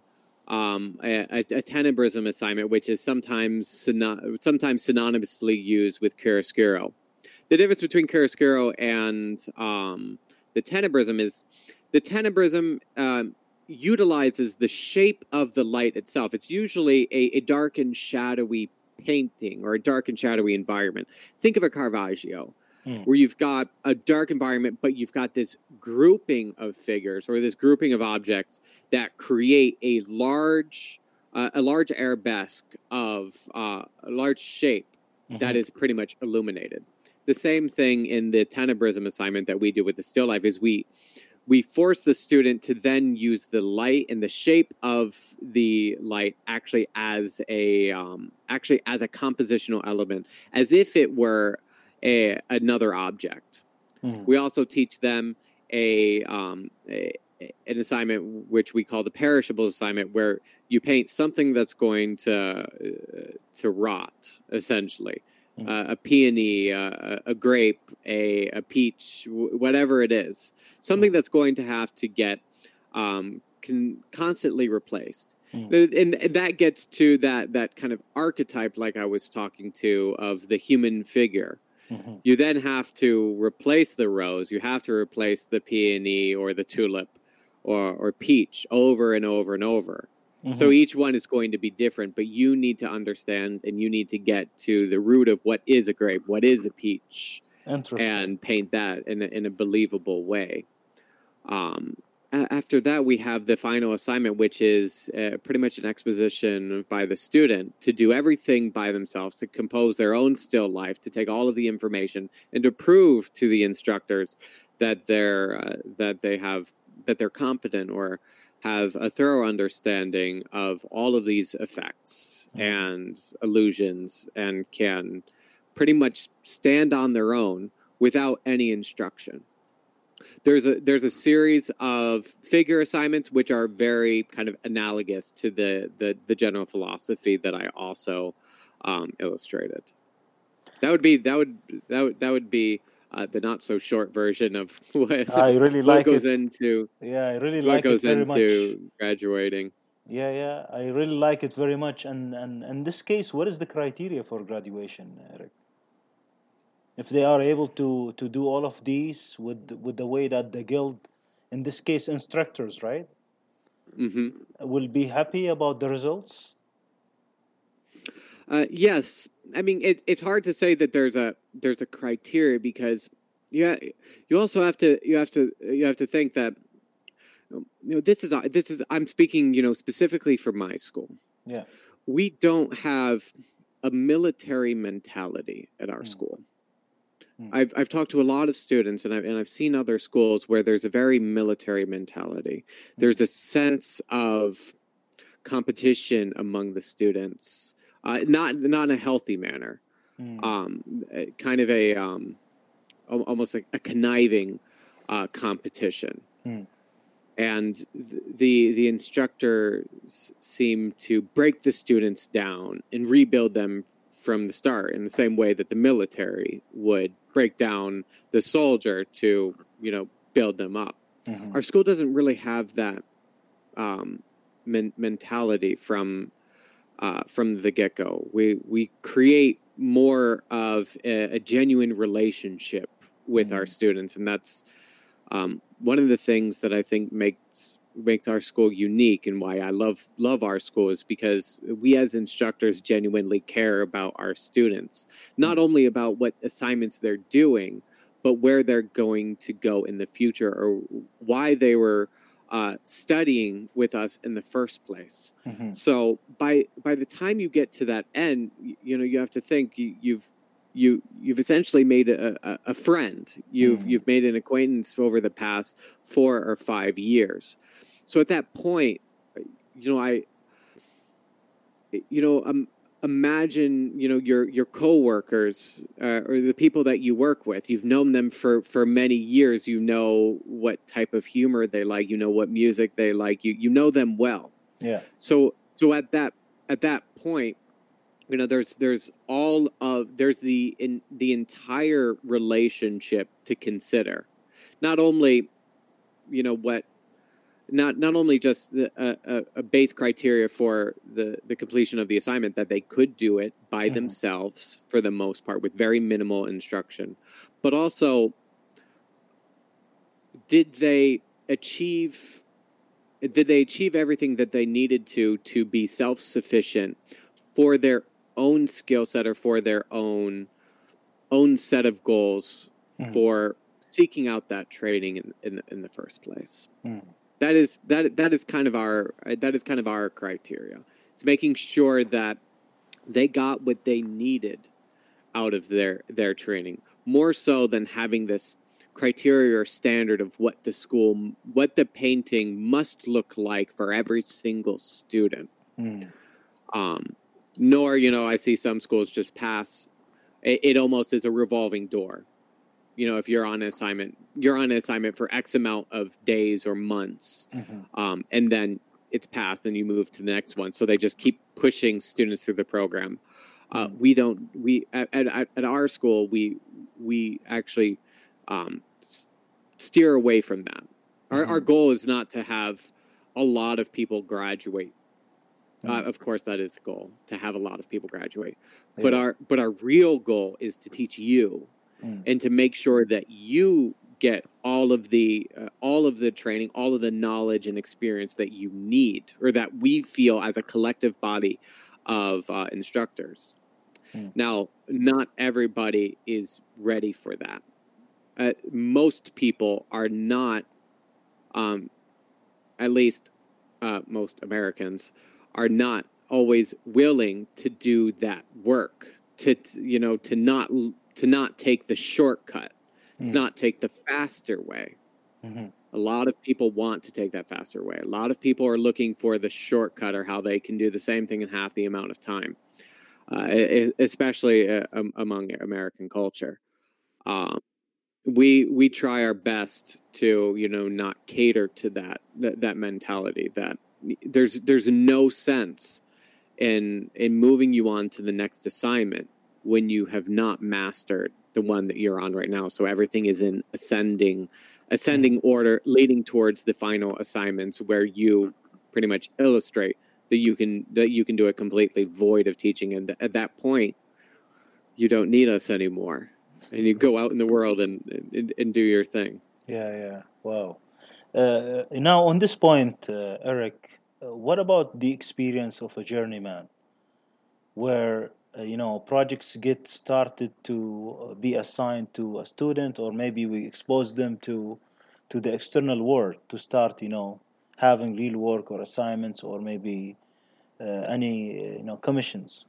a tenebrism assignment, which is sometimes synonymously used with chiaroscuro. The difference between chiaroscuro and the tenebrism is the tenebrism utilizes the shape of the light itself. It's usually a dark and shadowy painting or a dark and shadowy environment. Think of a Caravaggio, where you've got a dark environment, but you've got this grouping of figures or this grouping of objects that create a large arabesque of a large shape that is pretty much illuminated. The same thing in the tenebrism assignment that we do with the still life is we force the student to then use the light and the shape of the light actually as a compositional element, as if it were another object. We also teach them an assignment which we call the perishables assignment, where you paint something that's going to rot, essentially. A peony, a grape, a peach, whatever it is, something that's going to have to get constantly replaced. And that gets to that kind of archetype, like I was talking to, of the human figure. You then have to replace the rose. You have to replace the peony or the tulip or peach over and over and over. So each one is going to be different, but you need to understand and you need to get to the root of what is a grape, what is a peach, and paint that in a believable way. After that, we have the final assignment, which is pretty much an exposition by the student to do everything by themselves, to compose their own still life, to take all of the information and to prove to the instructors that they're competent or have a thorough understanding of all of these effects and illusions and can pretty much stand on their own without any instruction. There's a series of figure assignments which are very kind of analogous to the general philosophy that I also illustrated. That would be the not so short version of what I really what like goes it. into Yeah, I really what like it goes very much. into graduating. Yeah, I really like it very much. And in this case, what is the criteria for graduation, Eric? If they are able to do all of these with the way that the guild, in this case, instructors, right, will be happy about the results. Yes, I mean it's hard to say that there's a criteria, because you also have to think that this is I'm speaking specifically for my school. Yeah, we don't have a military mentality at our school. I've talked to a lot of students, and I've seen other schools where there's a very military mentality. There's a sense of competition among the students, not in a healthy manner. Kind of a almost like a conniving competition. And the instructors seem to break the students down and rebuild them from the start, in the same way that the military would break down the soldier to build them up. Our school doesn't really have that mentality from the get-go. We create more of a genuine relationship with our students, and that's one of the things that I think makes our school unique, and why I love our school, is because we as instructors genuinely care about our students, not only about what assignments they're doing, but where they're going to go in the future, or why they were studying with us in the first place. So by the time you get to that end, you have to think you've essentially made a friend. You've made an acquaintance over the past 4 or 5 years. So at that point, imagine your coworkers or the people that you work with. You've known them for many years. You know what type of humor they like. You know what music they like. You know them well. Yeah. So at that point, there's the entire relationship to consider. Not only not only just a base criteria for the completion of the assignment, that they could do it by themselves for the most part with very minimal instruction, but also did they achieve everything that they needed to be self-sufficient for their own skill set or for their own set of goals for seeking out that training in the first place. That is kind of our criteria. It's making sure that they got what they needed out of their training, more so than having this criteria or standard of what the painting must look like for every single student. Nor, I see some schools just pass. It almost is a revolving door. If you're on assignment, for X amount of days or months, and then it's passed and you move to the next one. So they just keep pushing students through the program. At our school, we actually steer away from that. Our goal is not to have a lot of people graduate. Of course, that is the goal, to have a lot of people graduate. Yeah. But our real goal is to teach you and to make sure that you get all of the training, all of the knowledge and experience that you need, or that we feel as a collective body of instructors. Now, not everybody is ready for that. Most people are not, at least most Americans, are not always willing to do that work, to not take the shortcut, to not take the faster way. A lot of people want to take that faster way. A lot of people are looking for the shortcut, or how they can do the same thing in half the amount of time, especially among American culture. We try our best to, not cater to that mentality, that there's no sense in moving you on to the next assignment when you have not mastered the one that you're on right now. So everything is in ascending order, leading towards the final assignments, where you pretty much illustrate that you can do it completely void of teaching, and at that point you don't need us anymore, and you go out in the world and do your thing. Yeah. Wow. Now, on this point, Eric, what about the experience of a journeyman, where projects get started to be assigned to a student, or maybe we expose them to the external world to start having real work or assignments, or maybe any commissions.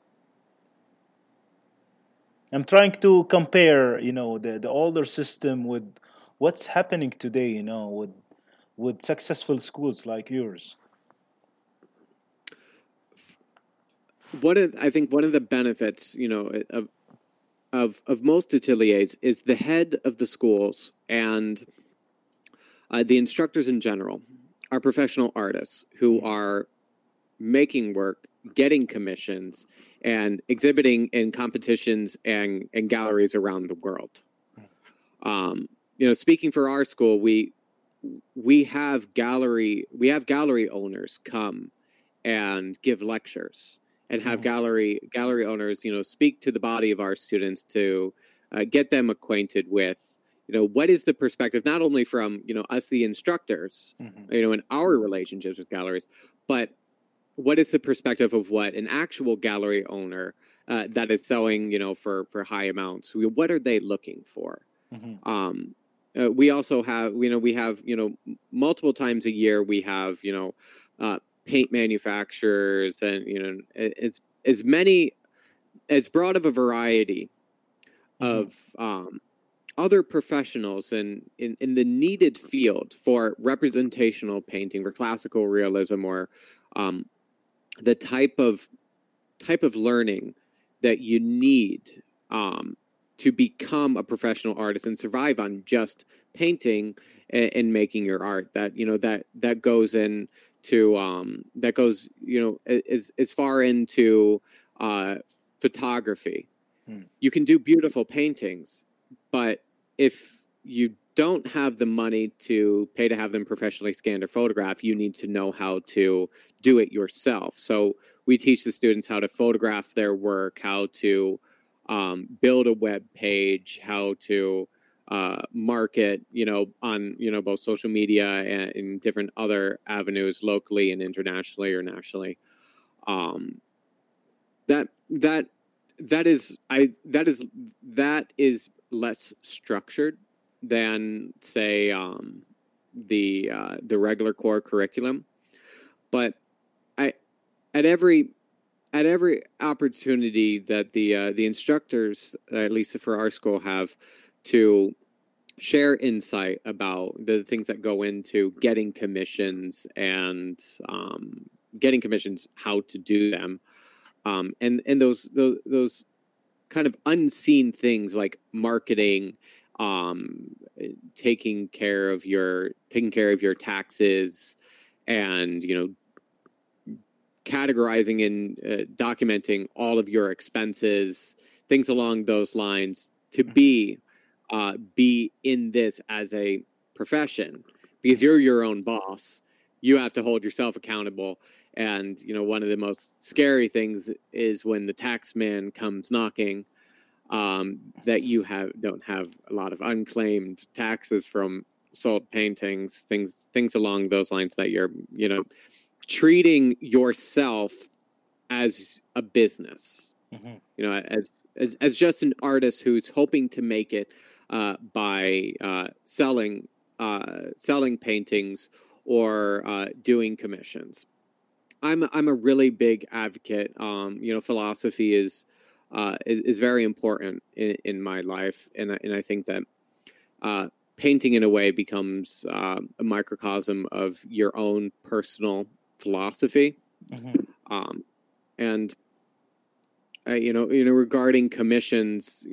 I'm trying to compare the older system with what's happening today, with successful schools like yours. I think one of the benefits, of most ateliers is the head of the schools and the instructors in general are professional artists who are making work, getting commissions, and exhibiting in competitions and galleries around the world. Speaking for our school, we have gallery owners come and give lectures, and have gallery owners, speak to the body of our students to get them acquainted with, what is the perspective, not only from, us, the instructors, in our relationships with galleries, but what is the perspective of what an actual gallery owner that is selling, for high amounts, what are they looking for? We also have, we have, multiple times a year, we have, paint manufacturers, and it's as broad of a variety of other professionals in the needed field for representational painting, for classical realism, or the type of learning that you need to become a professional artist and survive on just painting and making your art. That goes in to that goes as far into photography. You can do beautiful paintings, but if you don't have the money to pay to have them professionally scanned or photographed, you need to know how to do it yourself. So we teach the students how to photograph their work, how to build a web page, how to market, on, both social media and in different other avenues, locally and internationally or nationally. That that is less structured than, say, the regular core curriculum. But I at every opportunity that the instructors, at least for our school, have to share insight about the things that go into getting commissions and getting commissions, how to do them, and those kind of unseen things like marketing, taking care of your taxes, and categorizing and documenting all of your expenses, things along those lines, to be in this as a profession, because you're your own boss. You have to hold yourself accountable. And one of the most scary things is when the tax man comes knocking, that you don't have a lot of unclaimed taxes from sold paintings, things along those lines, that you're treating yourself as a business, as just an artist who's hoping to make it by selling paintings or doing commissions. I'm a really big advocate. Philosophy is very important in my life, and I think that painting in a way becomes a microcosm of your own personal philosophy. And regarding commissions,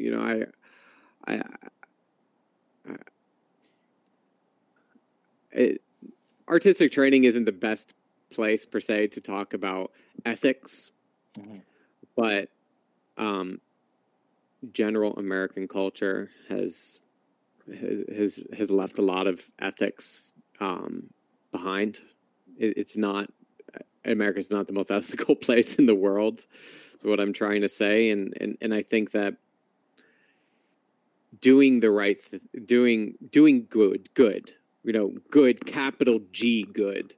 artistic training isn't the best place per se to talk about ethics, but general American culture has left a lot of ethics behind. It's not, America's not the most ethical place in the world. That's what I'm trying to say, and I think that doing the right, doing good, good, capital G, good.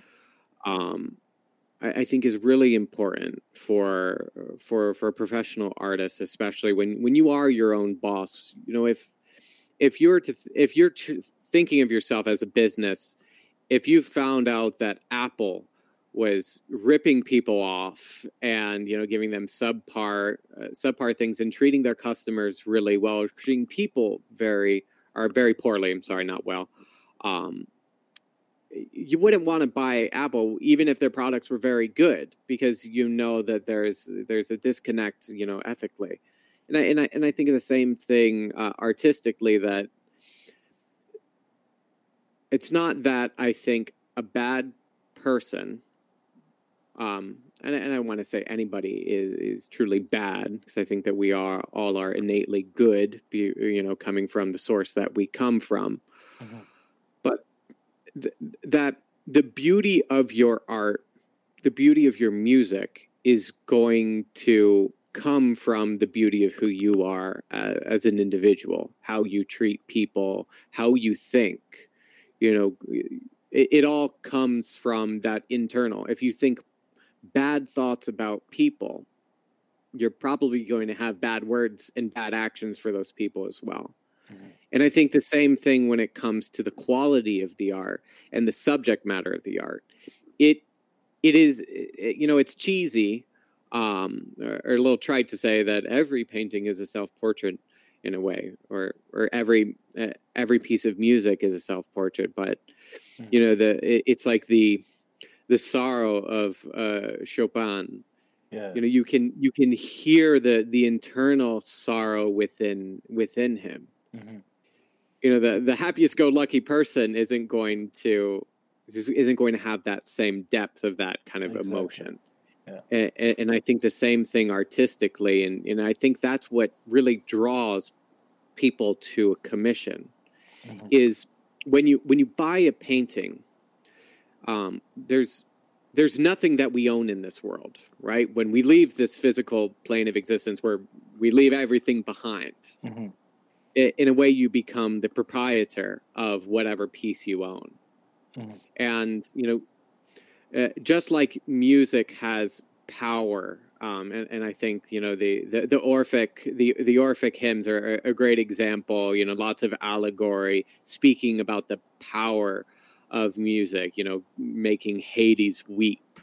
I think is really important for a professional artist, especially when you are your own boss. If you're thinking of yourself as a business, if you found out that Apple was ripping people off and giving them subpar things and treating their customers really well, treating people very poorly. I'm sorry, not well. You wouldn't want to buy Apple even if their products were very good, because that there's a disconnect, ethically, and I think of the same thing artistically, that it's not that I think a bad person, and I want to say anybody is truly bad, because I think that we all are innately good, coming from the source that we come from. But that the beauty of your art, the beauty of your music, is going to come from the beauty of who you are as an individual, how you treat people, how you think. It all comes from that internal. If you think bad thoughts about people, you're probably going to have bad words and bad actions for those people as well. And I think the same thing when it comes to the quality of the art and the subject matter of the art. It is, it's cheesy, or a little trite to say that every painting is a self-portrait in a way, or every piece of music is a self-portrait. But it's like the sorrow of Chopin. Yeah. You can hear the internal sorrow within him. The happiest-go-lucky person isn't going to have that same depth of that kind of emotion. Yeah. And I think the same thing artistically, and I think that's what really draws people to a commission, is when you buy a painting, there's nothing that we own in this world, right? When we leave this physical plane of existence, where we leave everything behind, in a way you become the proprietor of whatever piece you own. And, just like music has power And I think, you know, the Orphic hymns are a great example. You know, lots of allegory speaking about the power of music. You know, making Hades weep.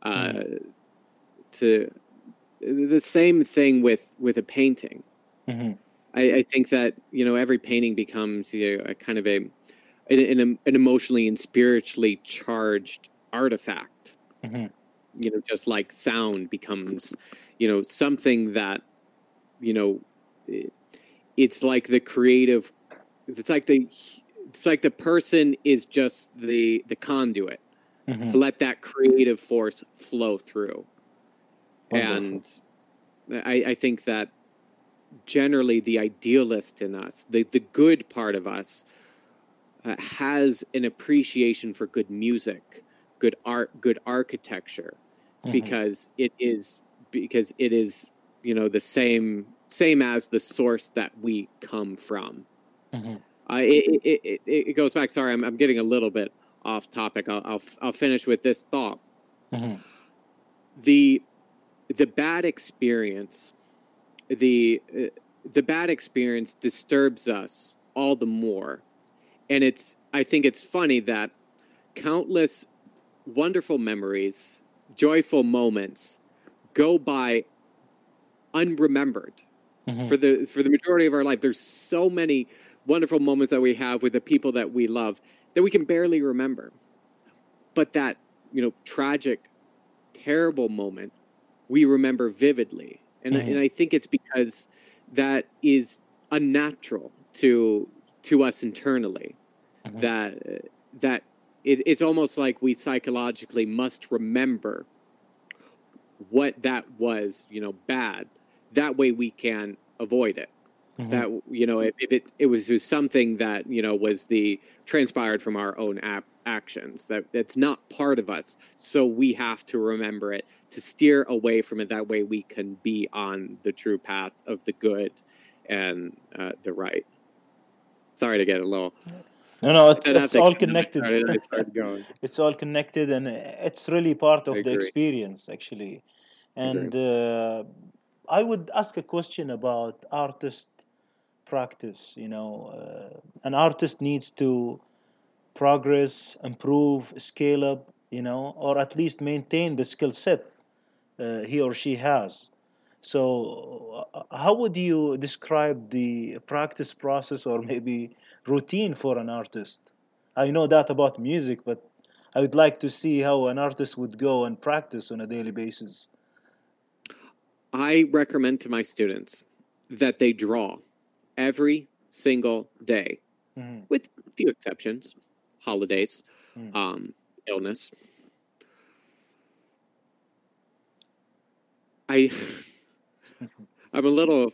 To the same thing with a painting. I think that, you know, every painting becomes, you know, a kind of an emotionally and spiritually charged artifact. You know, just like sound becomes, you know, something that, you know, it's like the creative, it's like the person is just the conduit to let that creative force flow through. Wonderful. And I think that generally the idealist in us, the good part of us, has an appreciation for good music, good art, good architecture, because it is, you know, the same as the source that we come from. It goes back. Sorry, I'm getting a little bit off topic. I'll finish with this thought. The bad experience, the bad experience disturbs us all the more. And I think it's funny that countless wonderful memories, joyful moments go by unremembered for the majority of our life. There's so many wonderful moments that we have with the people that we love that we can barely remember. But that, you know, tragic, terrible moment, we remember vividly. And I think it's because that is unnatural to us internally. That it's almost like we psychologically must remember what that was, you know, bad. That way we can avoid it. That, you know, if it was something that, you know, was transpired from our own actions, that's not part of us. So we have to remember it to steer away from it. That way we can be on the true path of the good and the right. Sorry to get a little. No, it's all connected. It's all connected, and it's really part of the experience, actually. And I would ask a question about artist practice. You know, an artist needs to progress, improve, scale up, you know, or at least maintain the skill set he or she has. So, how would you describe the practice process or maybe routine for an artist? I know that about music, but I would like to see how an artist would go and practice on a daily basis. I recommend to my students that they draw every single day, with a few exceptions, holidays, illness. I'm a little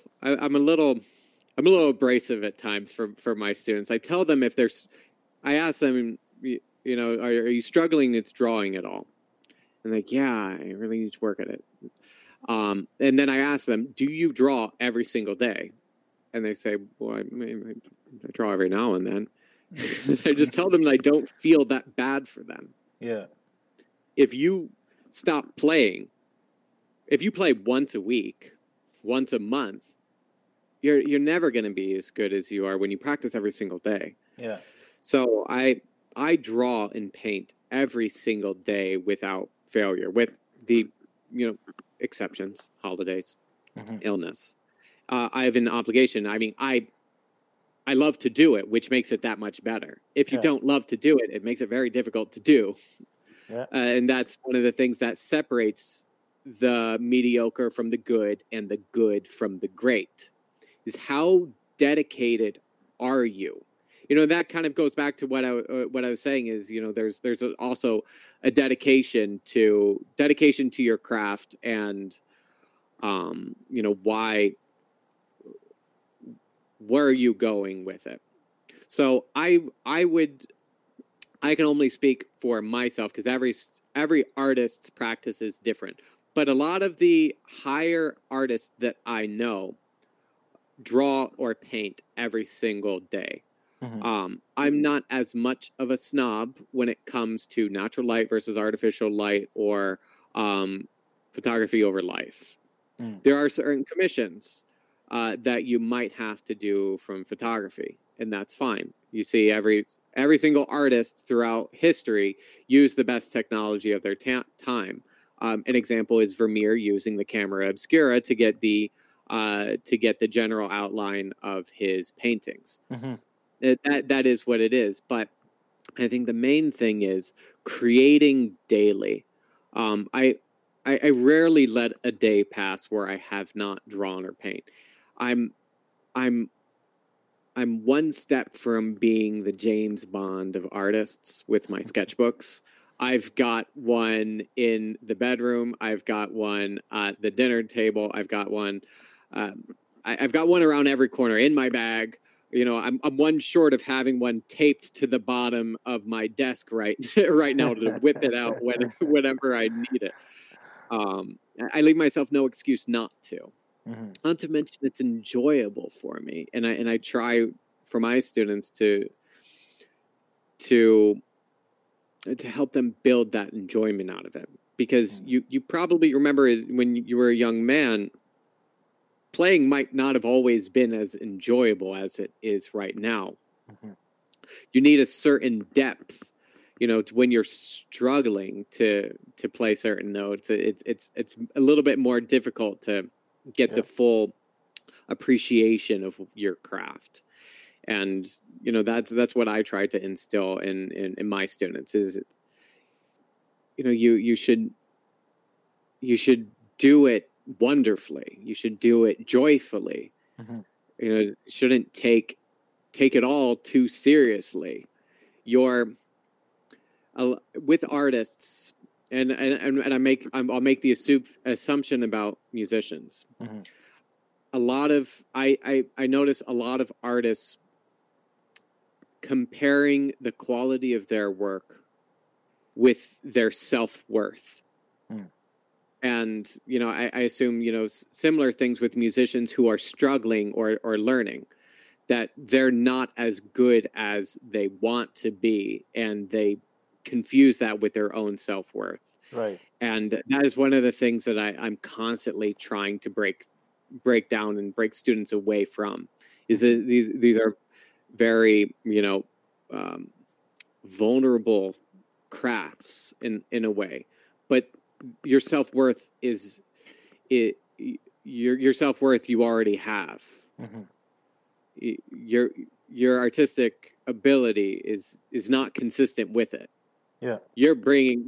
abrasive at times for my students. I tell them I ask them, you know, are you struggling with drawing at all? And like, yeah, I really need to work at it. And then I ask them, do you draw every single day? And they say, well, I draw every now and then. I just tell them that I don't feel that bad for them. Yeah. If you stop playing, if you play once a week, once a month, you're never going to be as good as you are when you practice every single day. Yeah. So I draw and paint every single day without failure, with the, you know, exceptions, holidays, illness. I have an obligation. I mean, I love to do it, which makes it that much better. If you don't love to do it, it makes it very difficult to do. Yeah. And that's one of the things that separates the mediocre from the good and the good from the great, is how dedicated are you? You know, that kind of goes back to what I was saying is, you know, there's also a dedication to your craft, and you know, where are you going with it? So I can only speak for myself, because every artist's practice is different. But a lot of the higher artists that I know draw or paint every single day. I'm not as much of a snob when it comes to natural light versus artificial light, or photography over life. There are certain commissions that you might have to do from photography, and that's fine. You see, every single artist throughout history used the best technology of their time. An example is Vermeer using the camera obscura to get the general outline of his paintings. That is what it is. But I think the main thing is creating daily. I rarely let a day pass where I have not drawn or paint. I'm one step from being the James Bond of artists with my sketchbooks. I've got one in the bedroom. I've got one at the dinner table. I've got one. I've got one around every corner in my bag. You know, I'm one short of having one taped to the bottom of my desk right now to whip it out whenever I need it. I leave myself no excuse not to. Not to mention it's enjoyable for me, and I try for my students to help them build that enjoyment out of it, because you probably remember when you were a young man, playing might not have always been as enjoyable as it is right now. You need a certain depth, you know, when you're struggling to play certain notes. It's a little bit more difficult to get the full appreciation of your craft. And, you know, that's what I try to instill in my students is, you know, you should do it wonderfully. You should do it joyfully. You know, shouldn't take it all too seriously. With artists, and I'll make the assumption about musicians. A lot of I notice a lot of artists comparing the quality of their work with their self-worth. And, you know, I assume, you know, similar things with musicians who are struggling or learning, that they're not as good as they want to be, and they confuse that with their own self-worth. Right. And that is one of the things that I'm constantly trying to break down and break students away from, is that these are very, you know, vulnerable crafts in a way, but your self-worth is your self-worth you already have. Your artistic ability is not consistent with it. You're bringing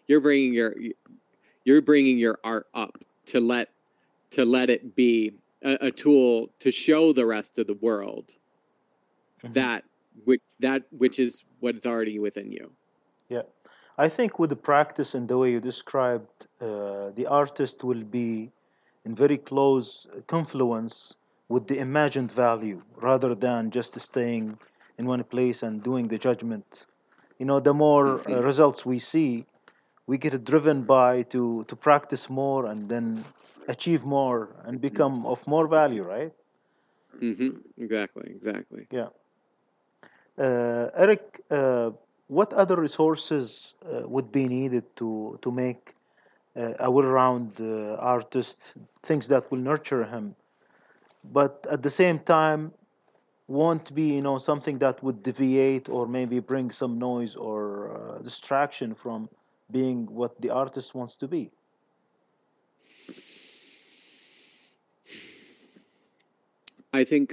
your art up to let it be a tool to show the rest of the world that which is what is already within you. I think with the practice and the way you described, the artist will be in very close confluence with the imagined value, rather than just staying in one place and doing the judgment. You know, the more results we see, we get driven by to practice more and then achieve more and become of more value, right? Exactly. Yeah. Eric, what other resources would be needed to make a well-round artist, things that will nurture him, but at the same time won't be, you know, something that would deviate or maybe bring some noise or distraction from being what the artist wants to be? I think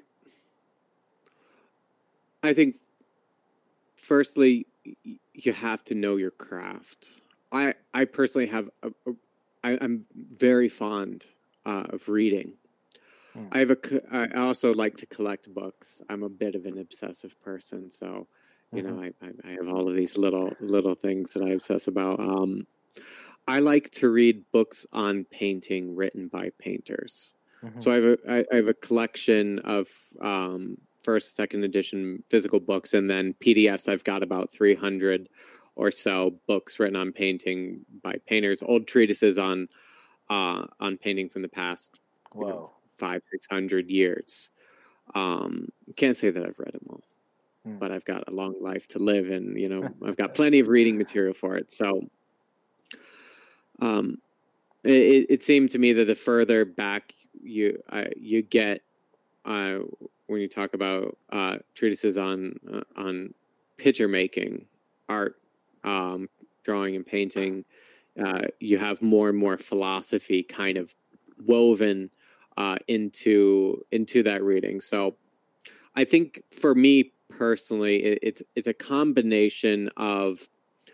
firstly, you have to know your craft. I personally have I'm very fond of reading. I also like to collect books. I'm a bit of an obsessive person, so you know, I have all of these little things that I obsess about. I like to read books on painting written by painters. So I have a collection of first, second edition physical books, and then PDFs. I've got about 300 or so books written on painting by painters, old treatises on painting from the past, you know, 500-600 years. Can't say that I've read them all, but I've got a long life to live, and you know, I've got plenty of reading material for it. So, it seemed to me that the further back you get when you talk about treatises on picture making, art, drawing and painting, you have more and more philosophy kind of woven into that reading. So I think for me personally, it's a combination of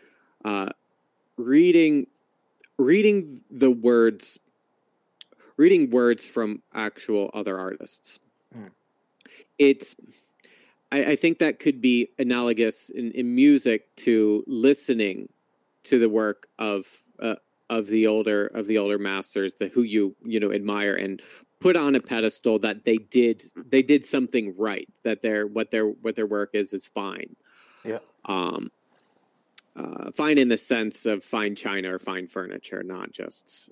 reading the words, reading words from actual other artists. I think that could be analogous in music to listening to the work of the older masters, who you admire and put on a pedestal, that they did something right, that what their work is fine. Yeah. Fine in the sense of fine china or fine furniture, not just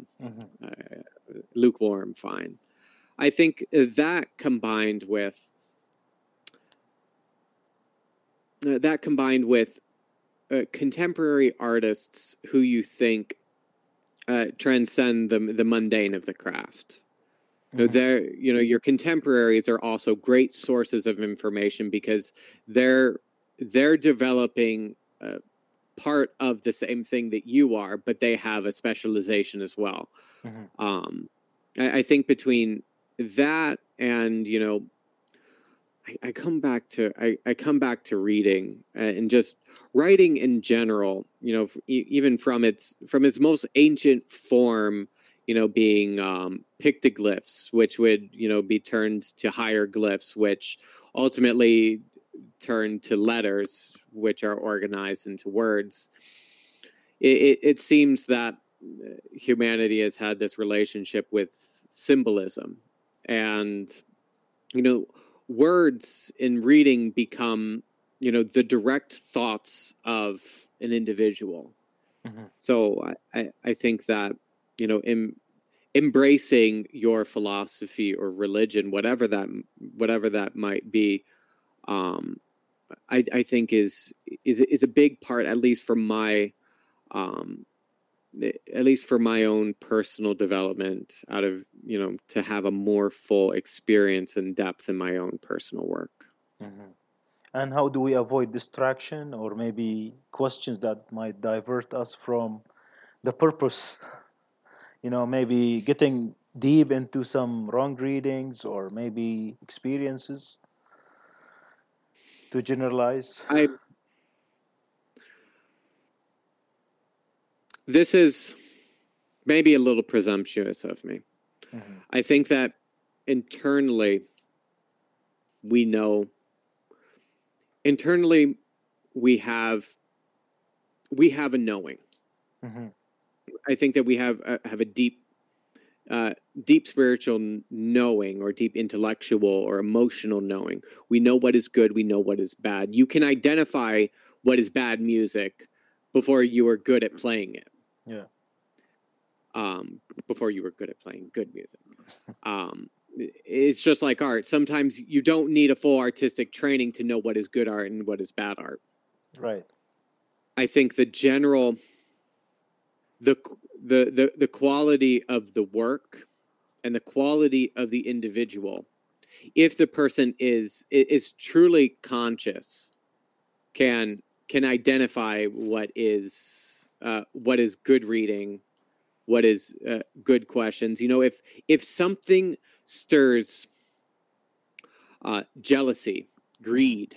lukewarm fine. I think that combined with contemporary artists who you think transcend the mundane of the craft. Your contemporaries are also great sources of information because they're developing part of the same thing that you are, but they have a specialization as well. I think between that and I come back to reading and just writing in general. Even from its most ancient form, being pictoglyphs, which would be turned to hieroglyphs, which ultimately turn to letters, which are organized into words. It seems that humanity has had this relationship with symbolism, and words in reading become the direct thoughts of an individual. So I think that embracing your philosophy or religion, whatever that might be, I think is a big part, at least for my own personal development, out of to have a more full experience and depth in my own personal work. And how do we avoid distraction or maybe questions that might divert us from the purpose? Maybe getting deep into some wrong readings or maybe experiences to generalize. This is maybe a little presumptuous of me. I think that internally we know. Internally, we have a knowing. I think that we have a deep spiritual knowing, or deep intellectual or emotional knowing. We know what is good. We know what is bad. You can identify what is bad music before you are good at playing it. Yeah. Before you were good at playing good music. It's just like art. Sometimes you don't need a full artistic training to know what is good art and what is bad art. Right. I think the general, the quality of the work and the quality of the individual, if the person is truly conscious, can identify what is good reading, what is good questions. If something stirs jealousy, greed,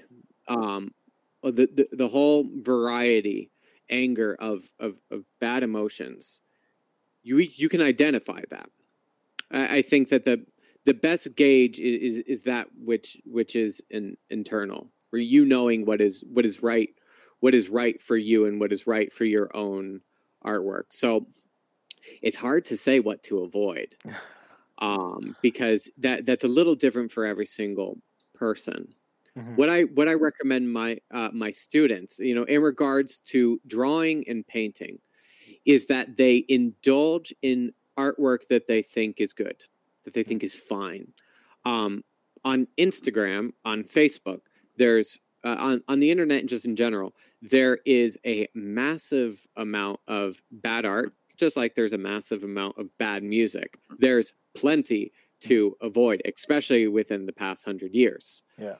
the whole variety, anger of bad emotions, you can identify that. I think that the best gauge is that which is internal, where knowing what is right for you and what is right for your own artwork. So it's hard to say what to avoid, because that's a little different for every single person. What I recommend my students, in regards to drawing and painting, is that they indulge in artwork that they think is good, that they think is fine. On Instagram, on Facebook, there's on the internet and just in general, there is a massive amount of bad art just like there's a massive amount of bad music, there's plenty to avoid, especially within the past 100 years. Yeah.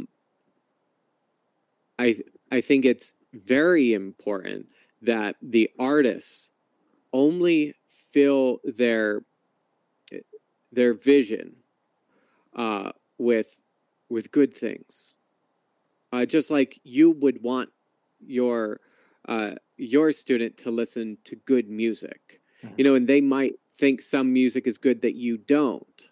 I think it's very important that the artists only fill their vision with good things, just like you would want your student to listen to good music, and they might think some music is good that you don't,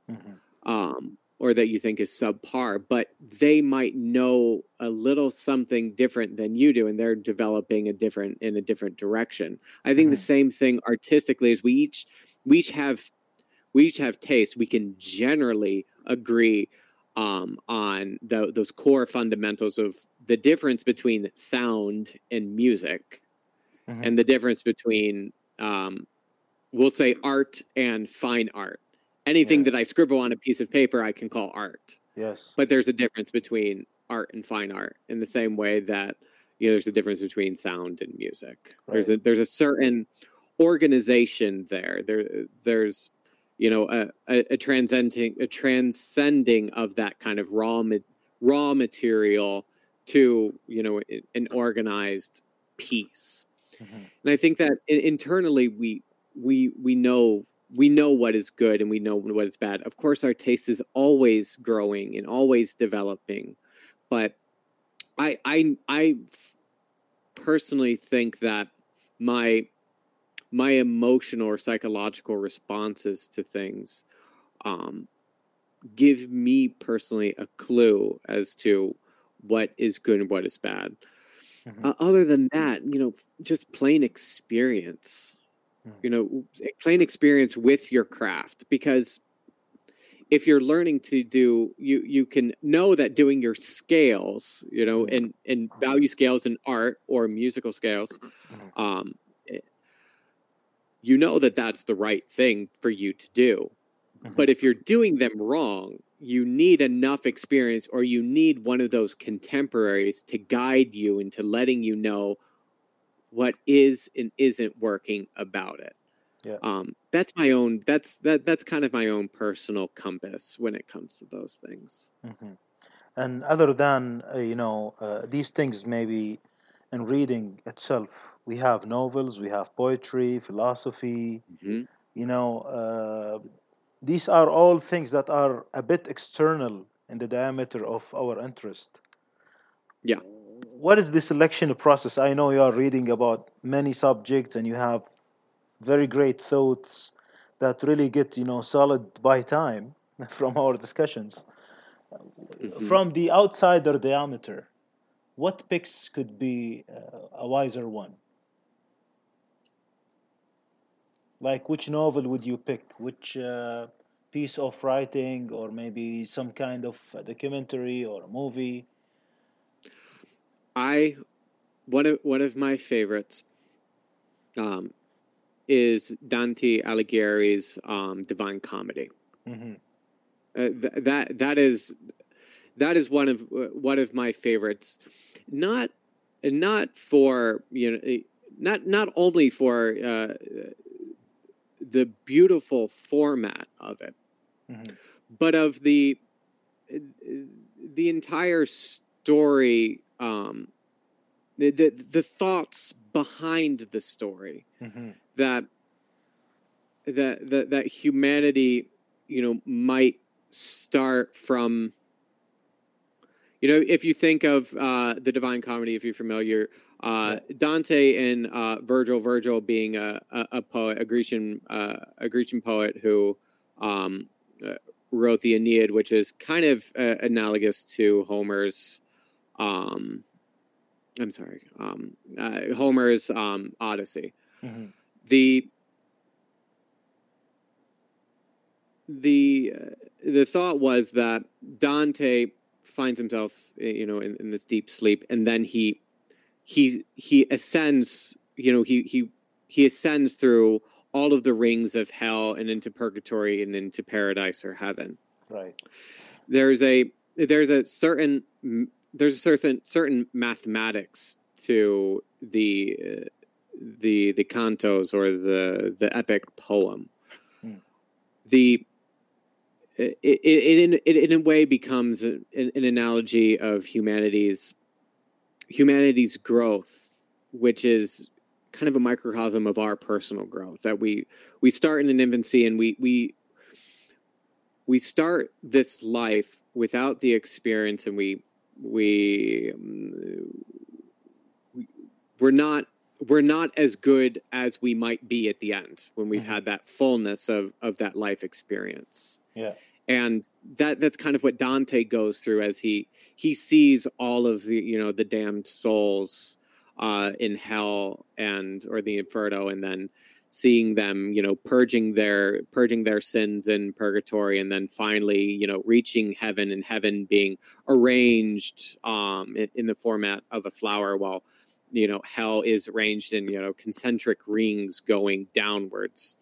or that you think is subpar, but they might know a little something different than you do, and they're developing in a different direction. I think the same thing artistically is we each have taste. We can generally agree on those core fundamentals of the difference between sound and music, and the difference between we'll say art and fine art. Anything that I scribble on a piece of paper, I can call art. Yes. But there's a difference between art and fine art, in the same way that there's a difference between sound and music. Right. There's a certain organization there. There's a transcending of that kind of raw material to an organized piece. And I think that internally we know what is good and we know what is bad. Of course, our taste is always growing and always developing, but I personally think that my emotional or psychological responses to things give me personally a clue as to what is good and what is bad. Other than that, just plain experience. Plain experience with your craft, because if you're learning to do, you can know that doing your scales, and value scales in art or musical scales, that's the right thing for you to do. But if you're doing them wrong, you need enough experience, or you need one of those contemporaries to guide you into letting you know what is and isn't working about it. Yeah. That's my own. That's kind of my own personal compass when it comes to those things. And other than these things, maybe in reading itself, we have novels, we have poetry, philosophy. These are all things that are a bit external in the diameter of our interest. Yeah. What is the selection process? I know you are reading about many subjects and you have very great thoughts that really get solid by time from our discussions. From the outsider diameter, what picks could be a wiser one? Like, which novel would you pick? Which piece of writing, or maybe some kind of documentary or a movie? One of my favorites is Dante Alighieri's Divine Comedy. That is one of my favorites. Not for not only for the beautiful format of it, but of the entire story, the thoughts behind the story, that humanity, might start from, if you think of the Divine Comedy, if you're familiar, Dante and Virgil being a poet, a Grecian poet who wrote the Aeneid, which is kind of analogous to Homer's Homer's Odyssey. The thought was that Dante finds himself, in this deep sleep, and then he ascends, he ascends through all of the rings of hell and into purgatory and into paradise or heaven. Right. There's a certain mathematics to the the cantos or the epic poem. It in a way becomes an analogy of humanity's growth, which is kind of a microcosm of our personal growth. That we start in an infancy, and we start this life without the experience, and we're not as good as we might be at the end when we've had that fullness of that life experience. Yeah. And that's kind of what Dante goes through as he sees all of the the damned souls in hell or the Inferno, and then seeing them purging their sins in purgatory, and then finally reaching heaven, and heaven being arranged in the format of a flower, while hell is arranged in concentric rings going downwards.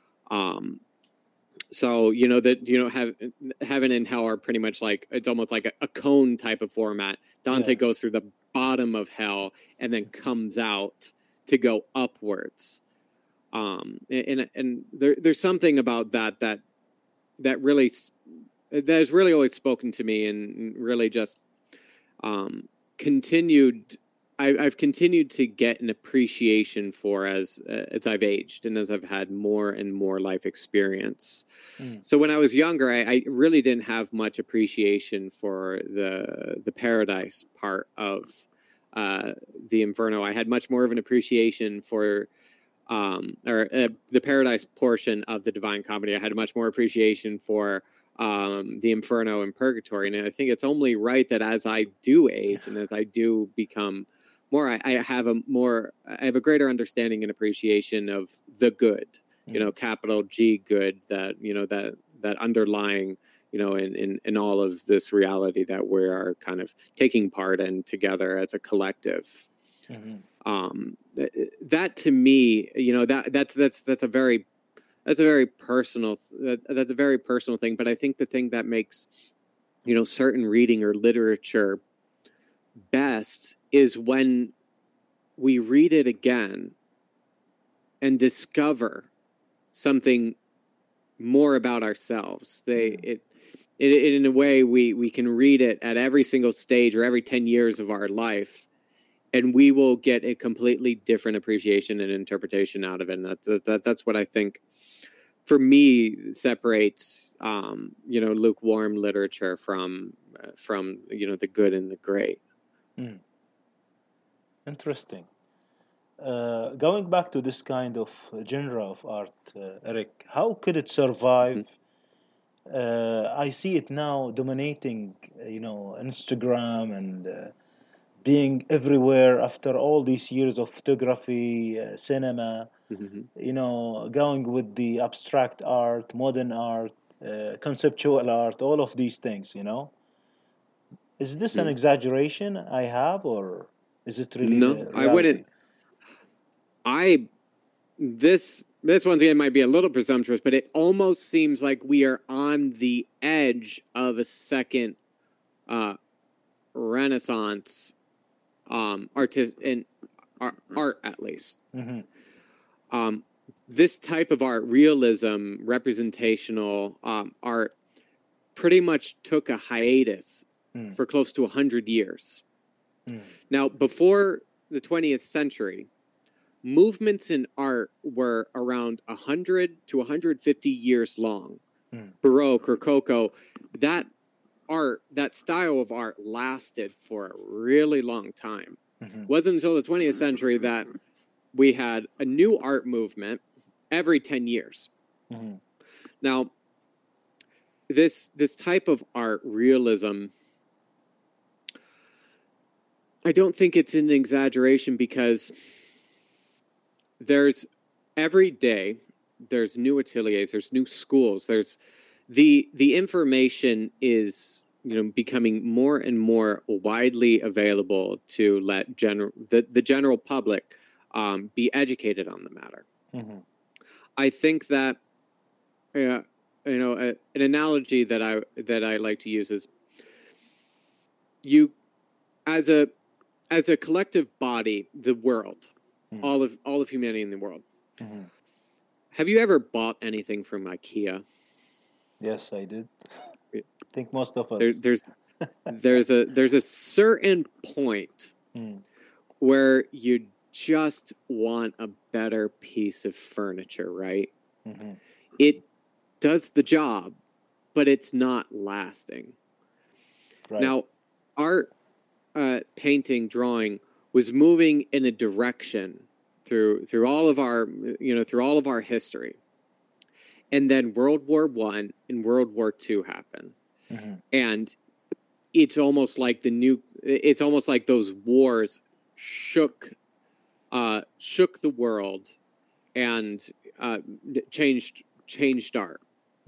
So that heaven and hell are pretty much like, it's almost like a cone type of format. Dante goes through the bottom of hell and then comes out to go upwards. And there's something about that really has really always spoken to me, and really just continued. I've continued to get an appreciation for as I've aged and as I've had more and more life experience. So when I was younger, I really didn't have much appreciation for the paradise part of the Inferno. I had much more of an appreciation for the paradise portion of the Divine Comedy. I had much more appreciation for the Inferno and Purgatory. And I think it's only right that as I do age and as I do become more, I have a greater understanding and appreciation of the good, capital G good, that that underlying, in all of this reality that we are kind of taking part in together as a collective. That to me, that's a very personal thing. But I think the thing that makes certain reading or literature best is when we read it again and discover something more about ourselves. In a way, we can read it at every single stage or every 10 years of our life, and we will get a completely different appreciation and interpretation out of it. And that's what I think, for me, separates lukewarm literature from the good and the great. Interesting. Going back to this kind of genre of art, Eric, how could it survive? I see it now dominating, Instagram and being everywhere after all these years of photography, cinema, going with the abstract art, modern art, conceptual art, all of these things, Is this an exaggeration I have, or is it really No, I wouldn't. This one thing might be a little presumptuous, but it almost seems like we are on the edge of a second Renaissance art, at least. This type of art, realism, representational art, pretty much took a hiatus for close to 100 years. Now, before the 20th century, movements in art were around 100 to 150 years long. Baroque, Rococo, that style of art lasted for a really long time. It wasn't until the 20th century that we had a new art movement every 10 years. Now, this type of art, realism, I don't think it's an exaggeration, because every day there's new ateliers, there's new schools, there's the information is becoming more and more widely available to let the general public be educated on the matter. I think that an analogy that I like to use is, you as a collective body, the world, all of humanity in the world. Mm-hmm. Have you ever bought anything from IKEA? Yes, I did. I think most of us. There's a certain point where you just want a better piece of furniture, right? Mm-hmm. It does the job, but it's not lasting. Right. Now, art, painting, drawing was moving in a direction through all of our history, and then World War I and World War II happened, and it's almost like those wars shook the world and changed art.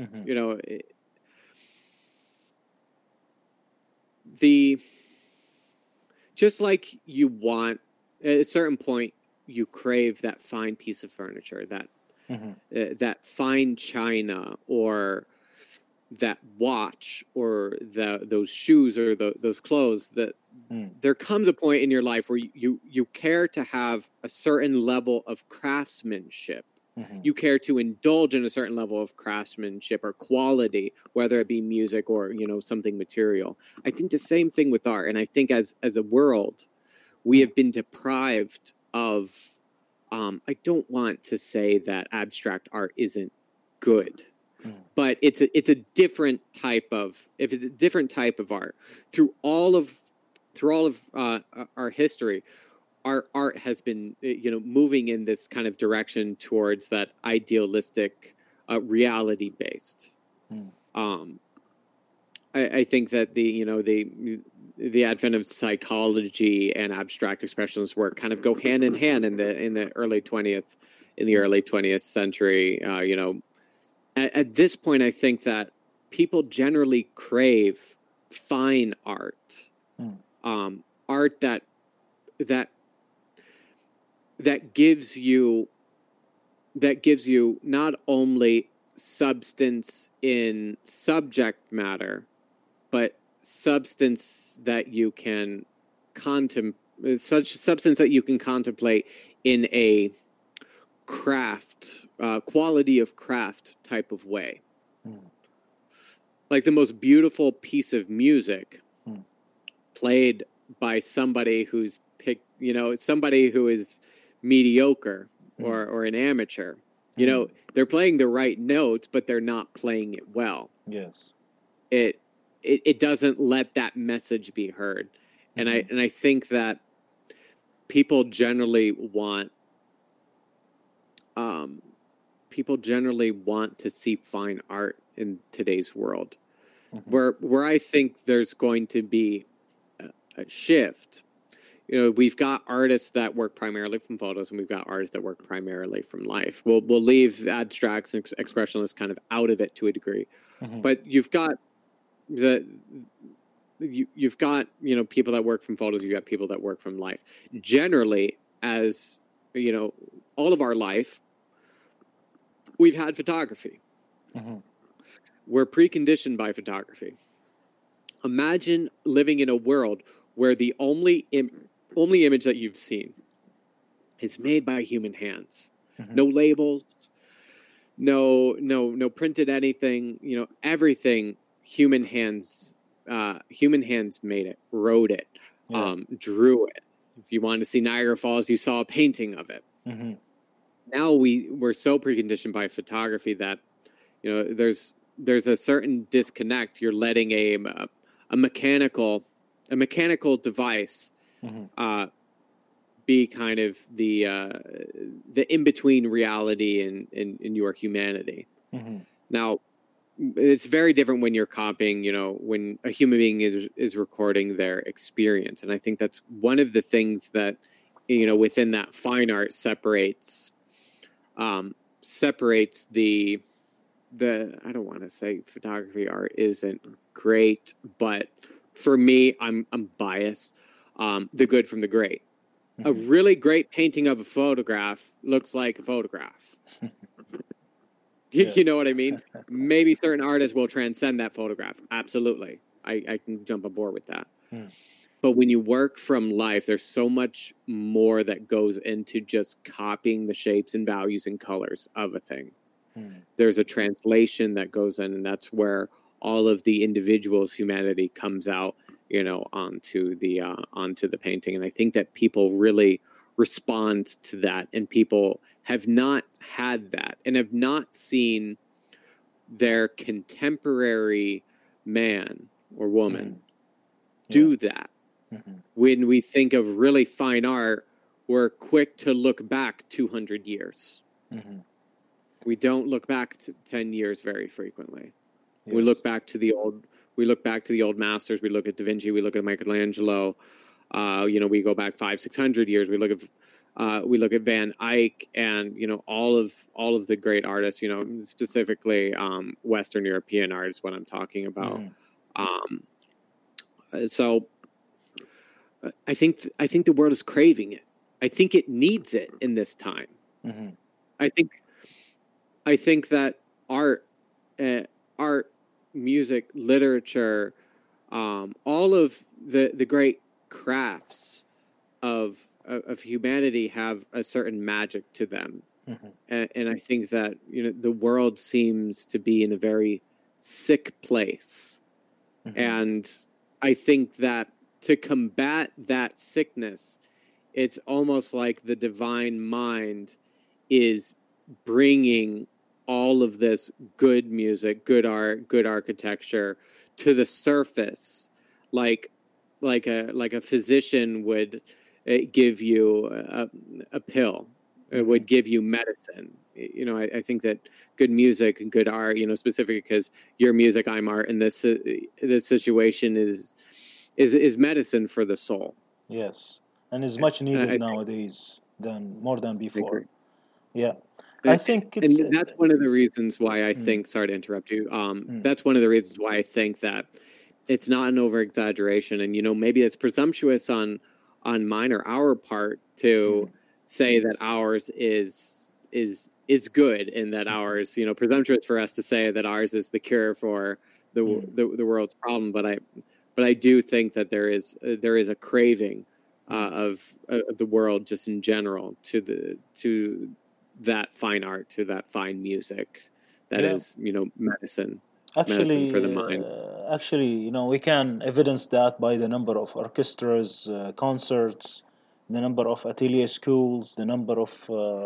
Just like you want at a certain point, you crave that fine piece of furniture, that fine china, or that watch, or those shoes, or those clothes. That there comes a point in your life where you care to have a certain level of craftsmanship. You care to indulge in a certain level of craftsmanship or quality, whether it be music or something material. I think the same thing with art, and I think as a world, we have been deprived of. I don't want to say that abstract art isn't good, but it's a different type of art. Through all of our history, our art has been moving in this kind of direction towards that idealistic, reality based. I think that the advent of psychology and abstract expressionist work kind of go hand in hand in the early 20th century. At this point, I think that people generally crave fine art, art that gives you not only substance in subject matter, but substance that you can contemplate in a craft, quality of craft type of way. Like the most beautiful piece of music played by somebody who's somebody who is mediocre or an amateur. They're playing the right notes, but they're not playing it well. Yes. It doesn't let that message be heard. And I think that people generally want to see fine art in today's world. Where I think there's going to be a shift. We've got artists that work primarily from photos, and we've got artists that work primarily from life. We'll leave abstracts and expressionists kind of out of it to a degree, but you've got people that work from photos. You've got people that work from life. Generally, as all of our life, we've had photography. We're preconditioned by photography. Imagine living in a world where the only image that you've seen is made by human hands. No labels, no printed anything. Everything human hands made it, wrote it, drew it. If you wanted to see Niagara Falls, you saw a painting of it. Now we're so preconditioned by photography that there's a certain disconnect. You're letting a mechanical device be kind of the in between reality and your humanity. Now, it's very different when you're copying. When a human being is recording their experience, and I think that's one of the things that within that fine art separates the I don't want to say photography art isn't great, but for me, I'm biased. The good from the great. A really great painting of a photograph looks like a photograph. You know what I mean? Maybe certain artists will transcend that photograph. Absolutely. I can jump aboard with that. But when you work from life, there's so much more that goes into just copying the shapes and values and colors of a thing. There's a translation that goes in, and that's where all of the individual's humanity comes out, onto the painting. And I think that people really respond to that, and people have not had that and have not seen their contemporary man or woman do that. When we think of really fine art, we're quick to look back 200 years. We don't look back to 10 years very frequently. Yes. We look back to the old masters. We look at Da Vinci. We look at Michelangelo. We go back 500-600 years. We look at Van Eyck, and all of the great artists. Specifically Western European art is what I'm talking about. So I think the world is craving it. I think it needs it in this time. I think that art, music, literature, all of the great crafts of humanity have a certain magic to them, and I think that the world seems to be in a very sick place, and I think that to combat that sickness, it's almost like the divine mind is bringing all of this good music, good art, good architecture to the surface, like a physician would give you a pill. It would give you medicine. I think that good music and good art, specifically because your music, I'm art, and this situation is medicine for the soul. Yes, and is much needed nowadays more than before. Yeah. I think and that's one of the reasons why I think, sorry to interrupt you, that's one of the reasons why I think that it's not an over-exaggeration, and, maybe it's presumptuous on mine or our part to say that ours is good, and that ours, presumptuous for us to say that ours is the cure for the world's problem, but I do think that there is a craving of the world just in general to that fine art, to that fine music that is, medicine for the mind. Actually, we can evidence that by the number of orchestras, concerts, the number of atelier schools, the number of,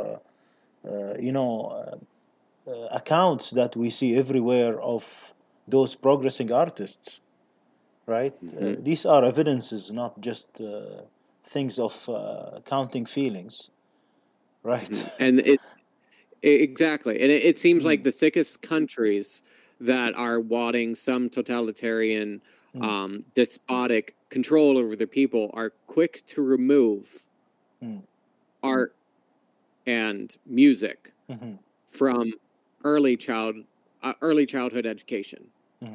accounts that we see everywhere of those progressing artists, right? These are evidences, not just things of counting feelings. Right. And exactly. And it seems like the sickest countries that are wanting some totalitarian, despotic control over their people are quick to remove art and music from early childhood education.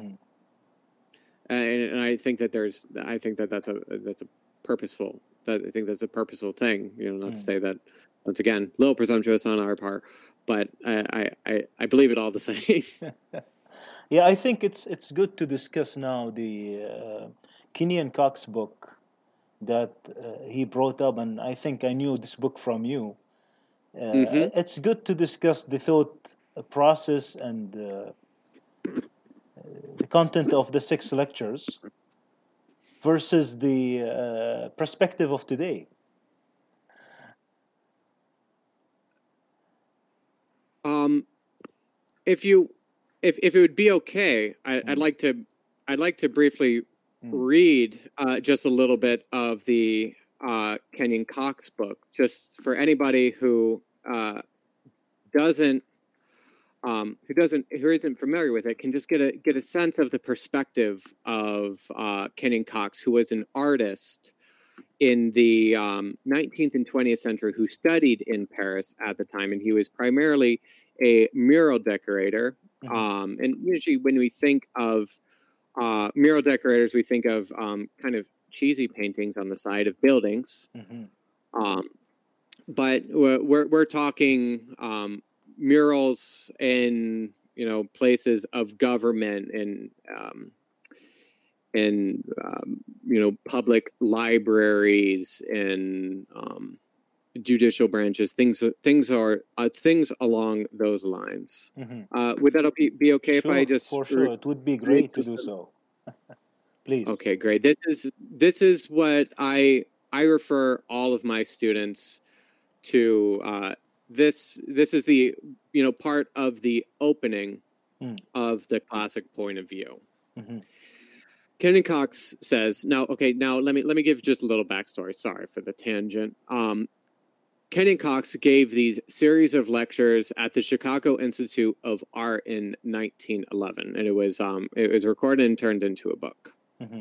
And I think that that's a purposeful. I think that's a purposeful thing. Not to say that, once again, a little presumptuous on our part, but I believe it all the same. Yeah, I think it's good to discuss now the Kenyon Cox book that he brought up, and I think I knew this book from you. It's good to discuss the thought process and the content of the 6 lectures versus the perspective of today. If it would be okay, I'd like to briefly read just a little bit of the Kenyon Cox book, just for anybody who isn't familiar with it, can just get a sense of the perspective of Kenyon Cox, who was an artist in the 19th and 20th century who studied in Paris at the time, and he was primarily a mural decorator. And usually when we think of mural decorators, we think of kind of cheesy paintings on the side of buildings. But we're talking murals in places of government and in public libraries and judicial branches, things along those lines. Would that be okay if I just for sure it would be great to do so. Please. Okay, great. This is what I refer all of my students to. This is the part of the opening of the classic point of view. Kenyon Cox says, now let me give just a little backstory. Sorry for the tangent. Kenyon Cox gave these series of lectures at the Chicago Institute of Art in 1911, and it was recorded and turned into a book.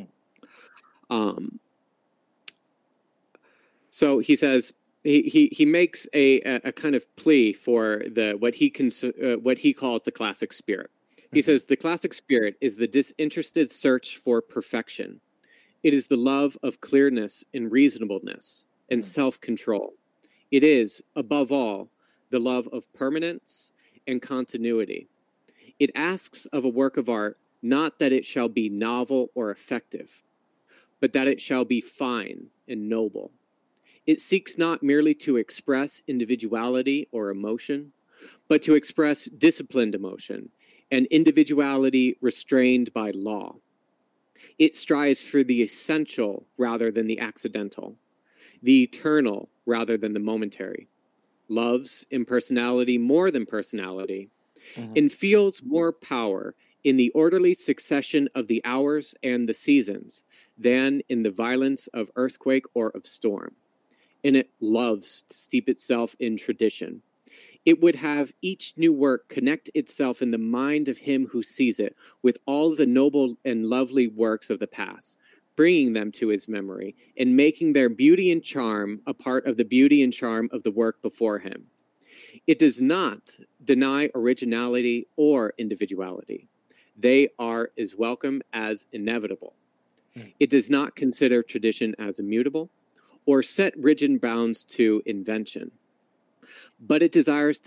So he says he makes a kind of plea for what he calls the classic spirit. He says the classic spirit is the disinterested search for perfection. It is the love of clearness and reasonableness and self-control. It is, above all, the love of permanence and continuity. It asks of a work of art not that it shall be novel or effective, but that it shall be fine and noble. It seeks not merely to express individuality or emotion, but to express disciplined emotion and individuality restrained by law. It strives for the essential rather than the accidental, the eternal rather than the momentary, loves impersonality more than personality, and feels more power in the orderly succession of the hours and the seasons than in the violence of earthquake or of storm. And it loves to steep itself in tradition. It would have each new work connect itself in the mind of him who sees it with all the noble and lovely works of the past, bringing them to his memory and making their beauty and charm a part of the beauty and charm of the work before him. It does not deny originality or individuality. They are as welcome as inevitable. It does not consider tradition as immutable or set rigid bounds to invention. But it desires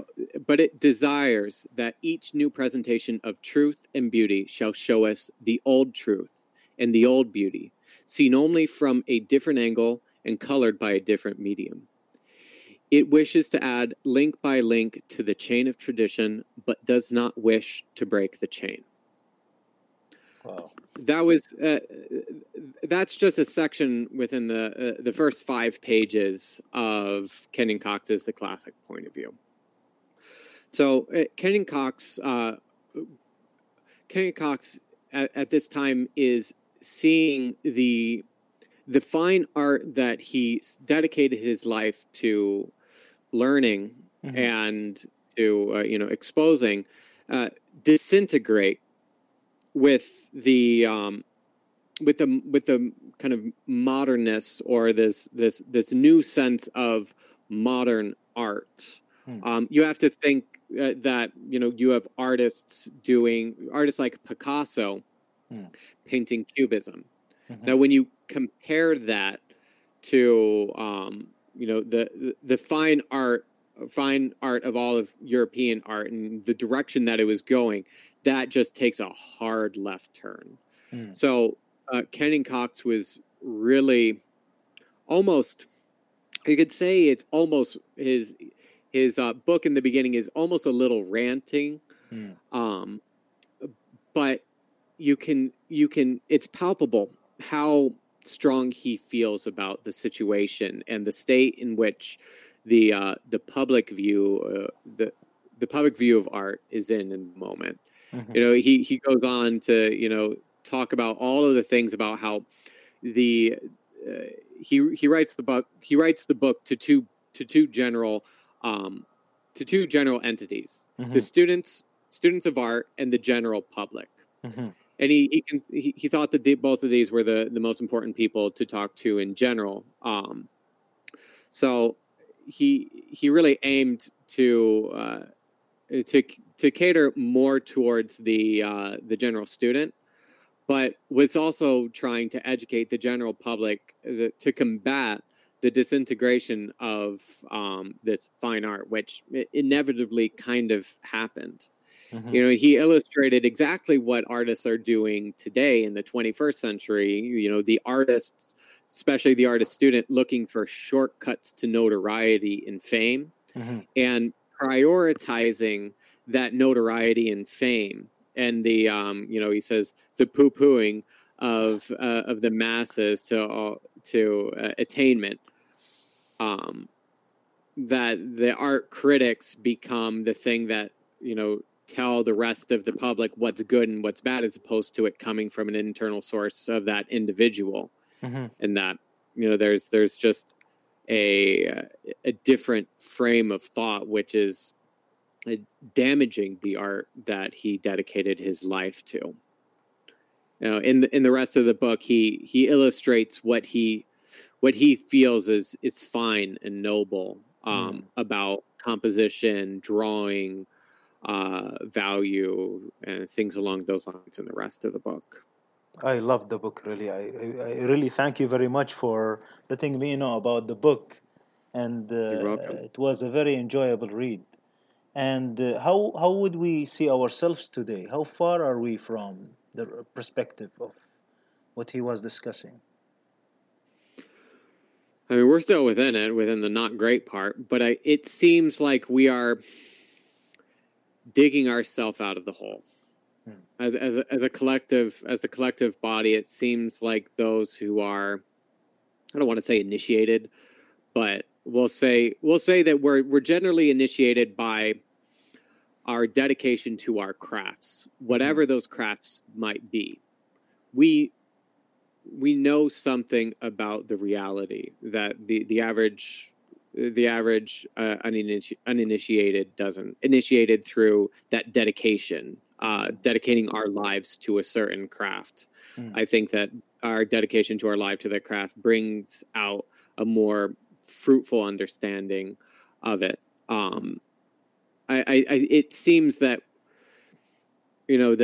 that each new presentation of truth and beauty shall show us the old truth and the old beauty, seen only from a different angle and colored by a different medium. It wishes to add link by link to the chain of tradition, but does not wish to break the chain. Wow. That's just a section within the first 5 pages of Kenyon Cox's The Classic Point of View. So Kenyon Cox at this time is seeing the fine art that he dedicated his life to learning and to exposing disintegrate with the kind of modernness or this new sense of modern art. You have to think that you have artists like Picasso painting cubism. Now, when you compare that to the fine art of all of European art and the direction that it was going, that just takes a hard left turn. So Kenyon Cox was really almost, you could say it's almost his book in the beginning is almost a little ranting, but you can it's palpable how strong he feels about the situation and the state in which the public view the public view of art is in the moment. He goes on to talk about all of the things about how he writes the book to two general entities, the students of art and the general public. And he thought that both of these were the most important people to talk to in general. So he really aimed to cater more towards the general student, but was also trying to educate the general public to combat the disintegration of this fine art, which inevitably kind of happened. Mm-hmm. You know, he illustrated exactly what artists are doing today in the 21st century. You know, the artists, especially the artist student, looking for shortcuts to notoriety and fame, Mm-hmm. and prioritizing that notoriety and fame. And the you know, he says the poo-pooing of the masses to attainment. That the art critics become the thing that, you know, tell the rest of the public what's good and what's bad, as opposed to it coming from an internal source of that individual. Mm-hmm. And that, you know, there's just a different frame of thought, which is damaging the art that he dedicated his life to. You know, in the rest of the book, he illustrates what he feels is fine and noble about composition, drawing, value, and things along those lines in the rest of the book. I love the book, really. I really thank you very much for letting me know about the book. And You're welcome. it was a very enjoyable read. And how would we see ourselves today? How far are we from the perspective of what he was discussing? I mean, we're still within it, within the not great part, but it seems like we are digging ourselves out of the hole. As a collective body, it seems like those who are, I don't want to say initiated, but we'll say that we're generally initiated by our dedication to our crafts, whatever those crafts might be. We know something about the reality that the average uninitiated doesn't. Initiated through that dedication, dedicating our lives to a certain craft. I think that our dedication to our life to that craft brings out a more fruitful understanding of it. It seems that, you know,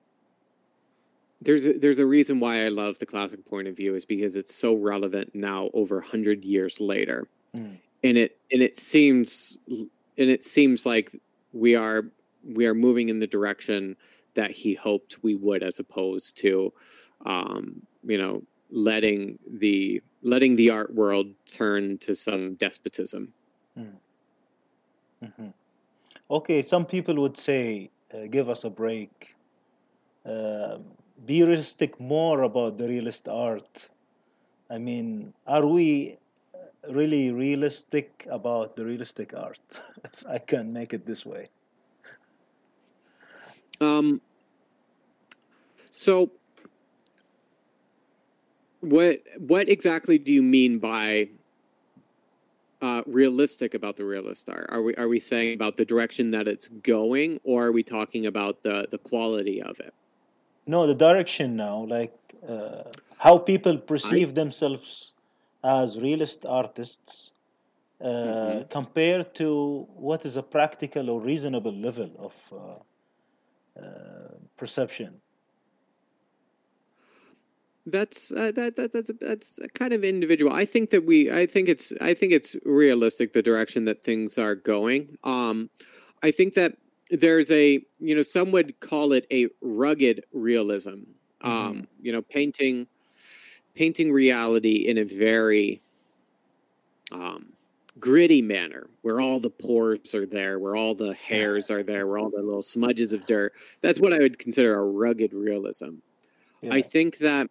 there's a reason why I love the classic point of view, is because it's so relevant now, over 100 years later. And it seems like we are moving in the direction that he hoped we would, as opposed to you know, letting the art world turn to some despotism. Mm-hmm. Okay, some people would say, give us a break. Be realistic more about the realist art. I mean, are we really realistic about the realistic art? If I can make it this way. So what exactly do you mean by realistic about the realist art? Are we saying about the direction that it's going, or are we talking about the quality of it? No, the direction now, like how people perceive themselves as realist artists compared to what is a practical or reasonable level of perception. That's that's kind of individual. I think it's realistic, the direction that things are going. I think that there's a, you know, some would call it a rugged realism. You know, painting reality in a very gritty manner, where all the pores are there, where all the hairs are there, where all the little smudges of dirt. That's what I would consider a rugged realism. Yeah. I think that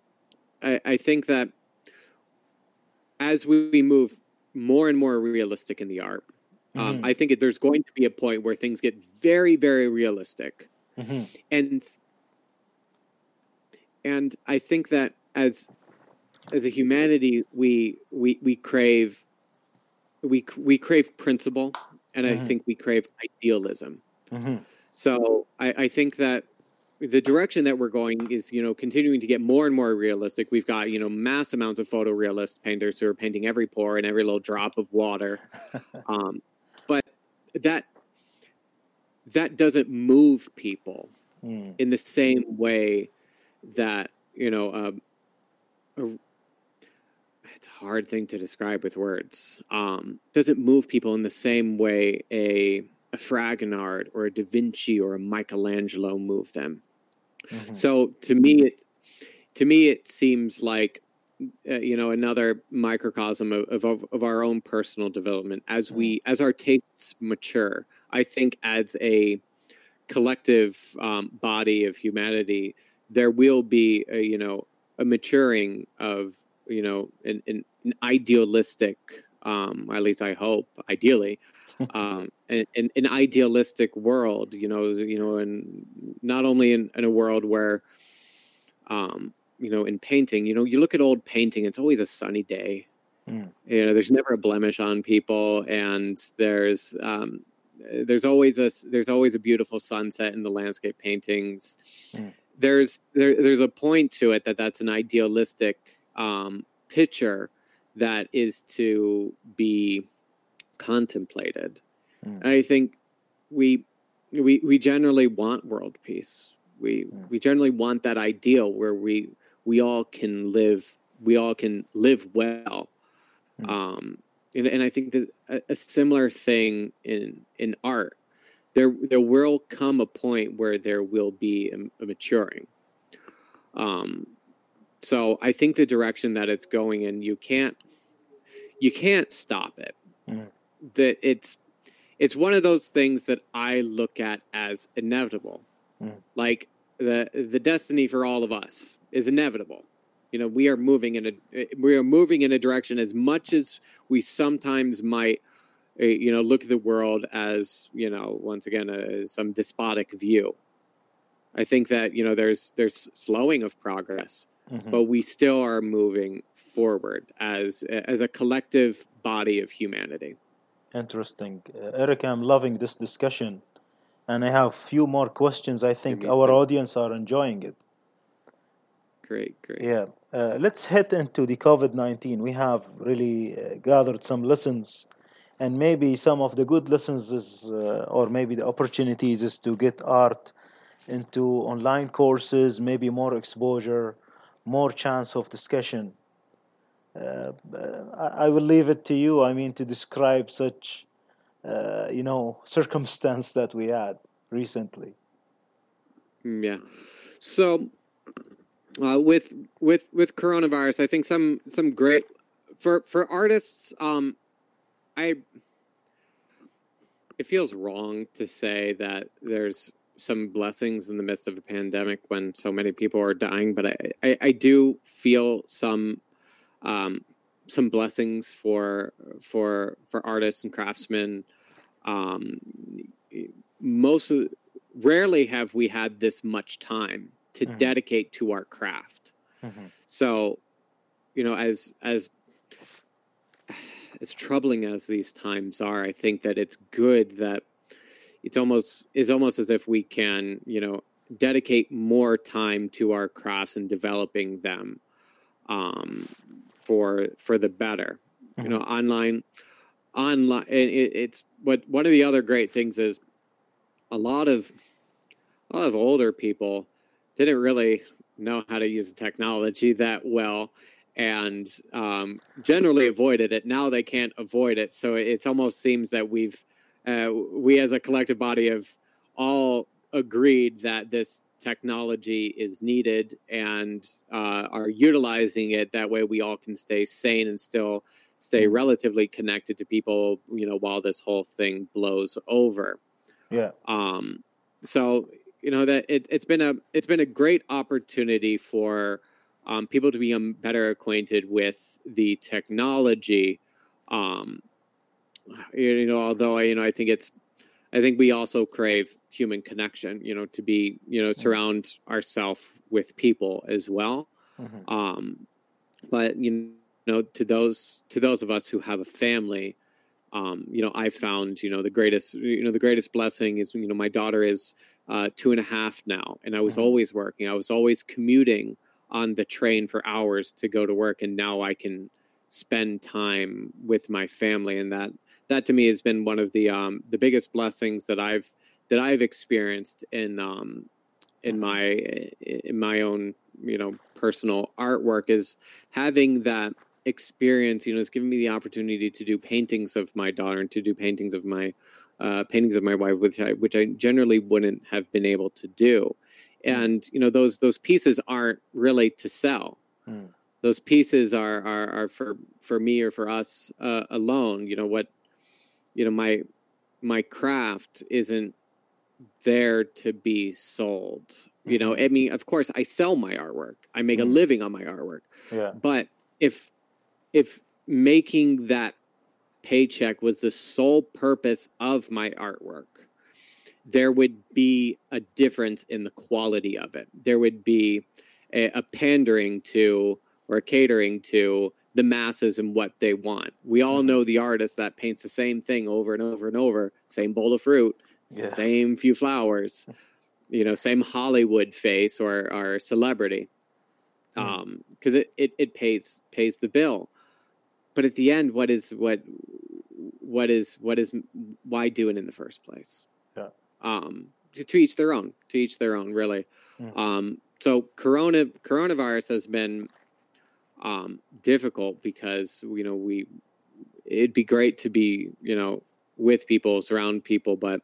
as we move more and more realistic in the art, I think there's going to be a point where things get very, very realistic. And I think that as a humanity, we crave principle, and I think we crave idealism. So I think that the direction that we're going is, you know, continuing to get more and more realistic. We've got, you know, mass amounts of photorealist painters who are painting every pore and every little drop of water. But that doesn't move people in the same way that, you know, it's a hard thing to describe with words. Doesn't move people in the same way a a Fragonard or a Da Vinci or a Michelangelo move them. So to me, it seems like another microcosm of our own personal development as our tastes mature. I think as a collective body of humanity, there will be a maturing of an idealistic, at least I hope, ideally, an idealistic world, and not only in a world where, in painting, you look at old painting, it's always a sunny day. There's never a blemish on people, and there's always a beautiful sunset in the landscape paintings. There's a point to it that's an idealistic picture that is to be contemplated. And I think we generally want world peace. We generally want that ideal where we all can live well. And I think there's a similar thing in art. There will come a point where there will be a maturing. So I think the direction that it's going in, you can't stop it. That it's one of those things that I look at as inevitable. Like the destiny for all of us is inevitable. We are moving in a direction, as much as we sometimes might look at the world as, once again, some despotic view. I think that, there's slowing of progress, but we still are moving forward as a collective body of humanity. Interesting. Eric, I'm loving this discussion, and I have a few more questions. I think our audience are enjoying it. Great. Yeah. Let's head into the COVID-19. We have really gathered some lessons, and maybe some of the good lessons is, or maybe the opportunities is to get art into online courses, maybe more exposure, more chance of discussion. I will leave it to you, to describe such, circumstance that we had recently. Yeah. So with coronavirus, I think some great for artists. It feels wrong to say that there's some blessings in the midst of a pandemic when so many people are dying, but I do feel some blessings for artists and craftsmen. Rarely have we had this much time to dedicate to our craft. So, as troubling as these times are, I think that it's good that it's almost as if we can, dedicate more time to our crafts and developing them for the better. Online. It's one of the other great things is a lot of older people didn't really know how to use the technology that well, and generally avoided it. Now they can't avoid it, so it almost seems that we as a collective body have all agreed that this technology is needed and are utilizing it. That way we all can stay sane and still stay relatively connected to people, while this whole thing blows over. Yeah. So that it's been a great opportunity for people to become better acquainted with the technology. Although I think we also crave human connection, to be, surround ourselves with people as well. But to those of us who have a family, I found, the greatest blessing is, my daughter is 2.5 now, and I was always working. I was always commuting on the train for hours to go to work, and now I can spend time with my family, and that to me has been one of the biggest blessings that I've experienced in my own personal artwork, is having that experience. It's given me the opportunity to do paintings of my daughter and to do paintings of my paintings of my wife, which I generally wouldn't have been able to do. And those pieces aren't really to sell. Those pieces are for me or for us alone. My craft isn't there to be sold. I mean, of course, I sell my artwork. I make a living on my artwork. Yeah. But if making that paycheck was the sole purpose of my artwork, there would be a difference in the quality of it. There would be a pandering to or catering to the masses and what they want. We all know the artist that paints the same thing over and over and over, same bowl of fruit, same few flowers, same Hollywood face or celebrity, because it pays the bill. But at the end, why do it in the first place? To each their own. To each their own, really. So coronavirus has been difficult because it'd be great to be with people, surround people, but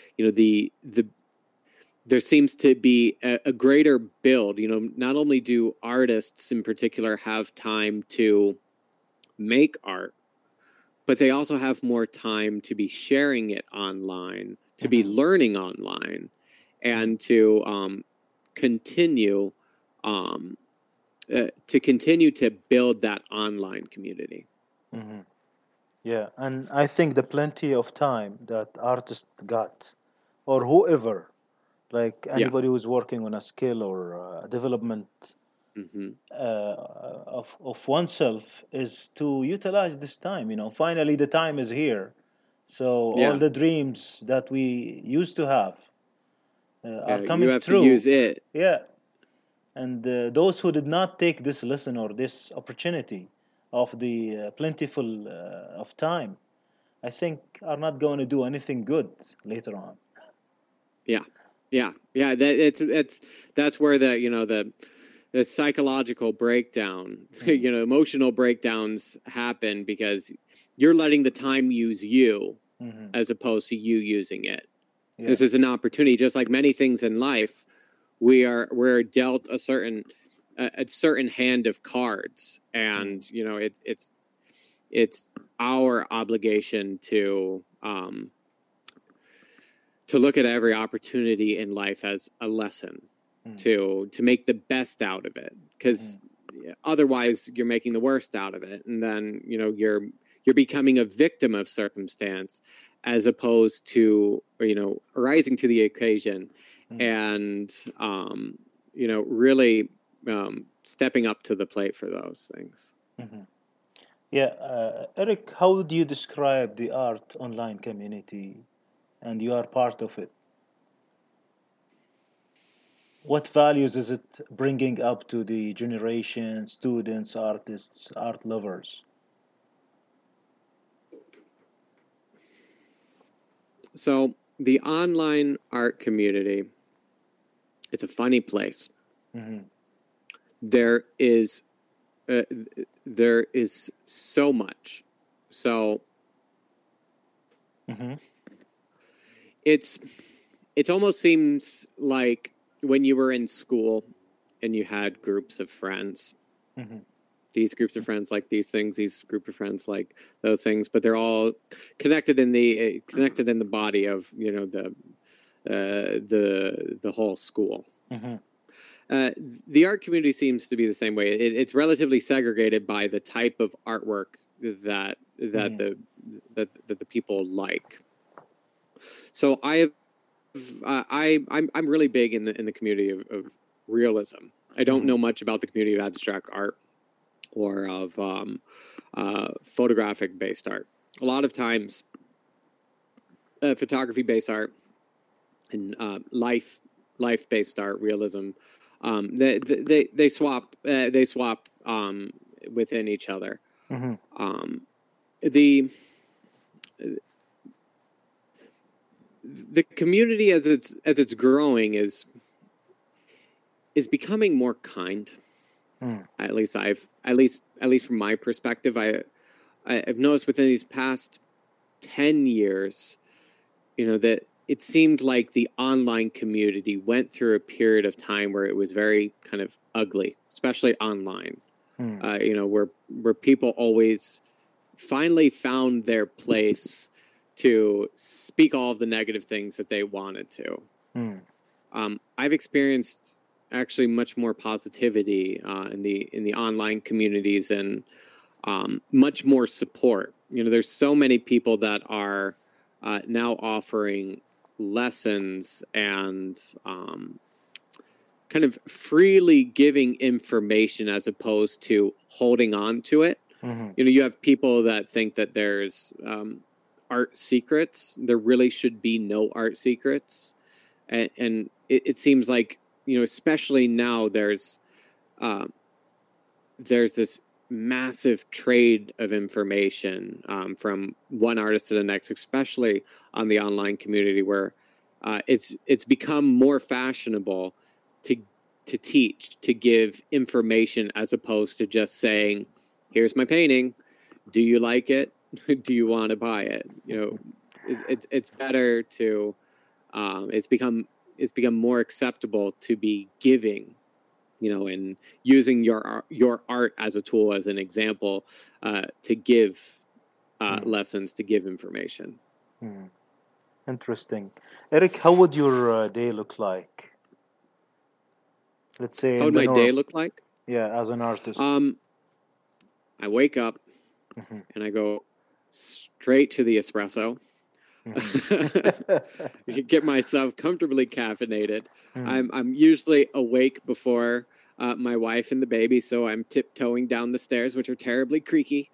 there seems to be a greater build. Not only do artists in particular have time to make art, but they also have more time to be sharing it online, to be learning online, and to continue to build that online community. Yeah, and I think the plenty of time that artists got, or whoever, like anybody who's working on a skill or development of oneself, is to utilize this time. Finally the time is here, so all the dreams that we used to have are coming you have true. to use it. And those who did not take this lesson or this opportunity of the plentiful of time, I think are not going to do anything good later on. That's where the psychological breakdown, emotional breakdowns happen because you're letting the time use you as opposed to you using it. This is an opportunity, just like many things in life. We're dealt a certain hand of cards, and it's our obligation to look at every opportunity in life as a lesson, to make the best out of it, because otherwise you're making the worst out of it, and then you're becoming a victim of circumstance as opposed to rising to the occasion and really stepping up to the plate for those things. Eric, how would you describe the art online community, and you are part of it? What values is it bringing up to the generation, students, artists, art lovers? So the online art community, it's a funny place. There is so much. So it almost seems like when you were in school and you had groups of friends. These groups of friends like these things, these group of friends like those things, but they're all connected in the body of the whole school. The art community seems to be the same way. It's relatively segregated by the type of artwork that the people like. So I'm really big in the community of realism. I don't know much about the community of abstract art or of photographic-based art. A lot of times, photography-based art and life-based art, realism, they swap within each other. The community as it's growing is becoming more kind. At least from my perspective, I've noticed within these past 10 years, that it seemed like the online community went through a period of time where it was very kind of ugly, especially online. Where people always finally found their place to speak all of the negative things that they wanted to. I've experienced actually much more positivity in the online communities, and much more support. There's so many people that are now offering lessons and kind of freely giving information as opposed to holding on to it. You have people that think that there's art secrets. There really should be no art secrets. And it seems like, especially now there's this massive trade of information from one artist to the next, especially on the online community, where it's become more fashionable to teach, to give information, as opposed to just saying, here's my painting, do you like it? Do you want to buy it? It's better to it's become more acceptable to be giving, and using your art as a tool, as an example, to give lessons, to give information. Interesting. Eric, how would your day look like? Let's say, how would my day look like? Yeah, as an artist. I wake up and I go straight to the espresso. Get myself comfortably caffeinated. I'm usually awake before my wife and the baby, so I'm tiptoeing down the stairs, which are terribly creaky.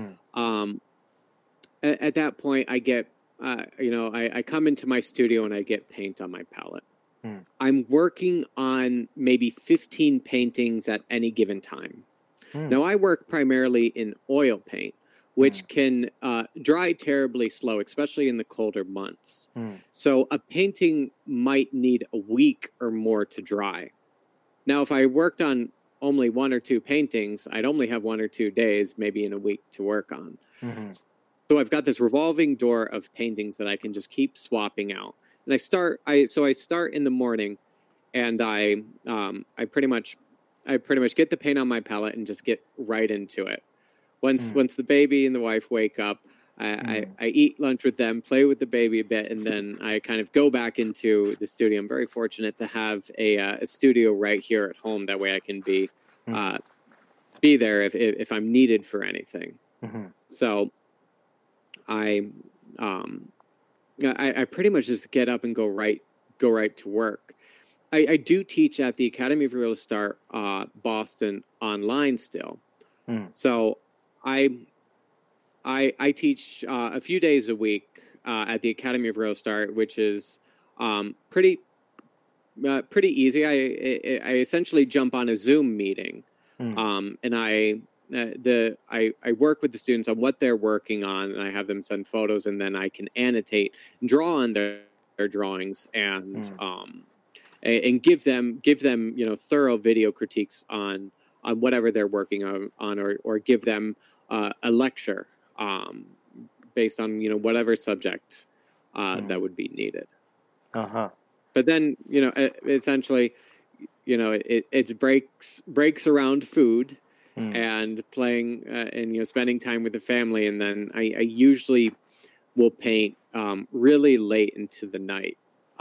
At that point, I get I come into my studio and I get paint on my palette. I'm working on maybe 15 paintings at any given time. Now, I work primarily in oil paint, which can dry terribly slow, especially in the colder months. So a painting might need a week or more to dry. Now, if I worked on only 1 or 2 paintings, I'd only have 1 or 2 days, maybe in a week, to work on. So I've got this revolving door of paintings that I can just keep swapping out. And I start in the morning, and I pretty much get the paint on my palette and just get right into it. Once the baby and the wife wake up, I eat lunch with them, play with the baby a bit, and then I kind of go back into the studio. I'm very fortunate to have a studio right here at home. That way I can be there if I'm needed for anything. So I pretty much just get up and go right to work. I do teach at the Academy of Realist Art Boston online still. So I teach a few days a week at the Academy of Realist Art, which is pretty easy. I essentially jump on a Zoom meeting, and I work with the students on what they're working on, and I have them send photos, and then I can annotate and draw on their drawings, and give them thorough video critiques on whatever they're working on, or give them a lecture based on whatever subject that would be needed. But then essentially it's breaks around food and playing and spending time with the family, and then I usually will paint really late into the night.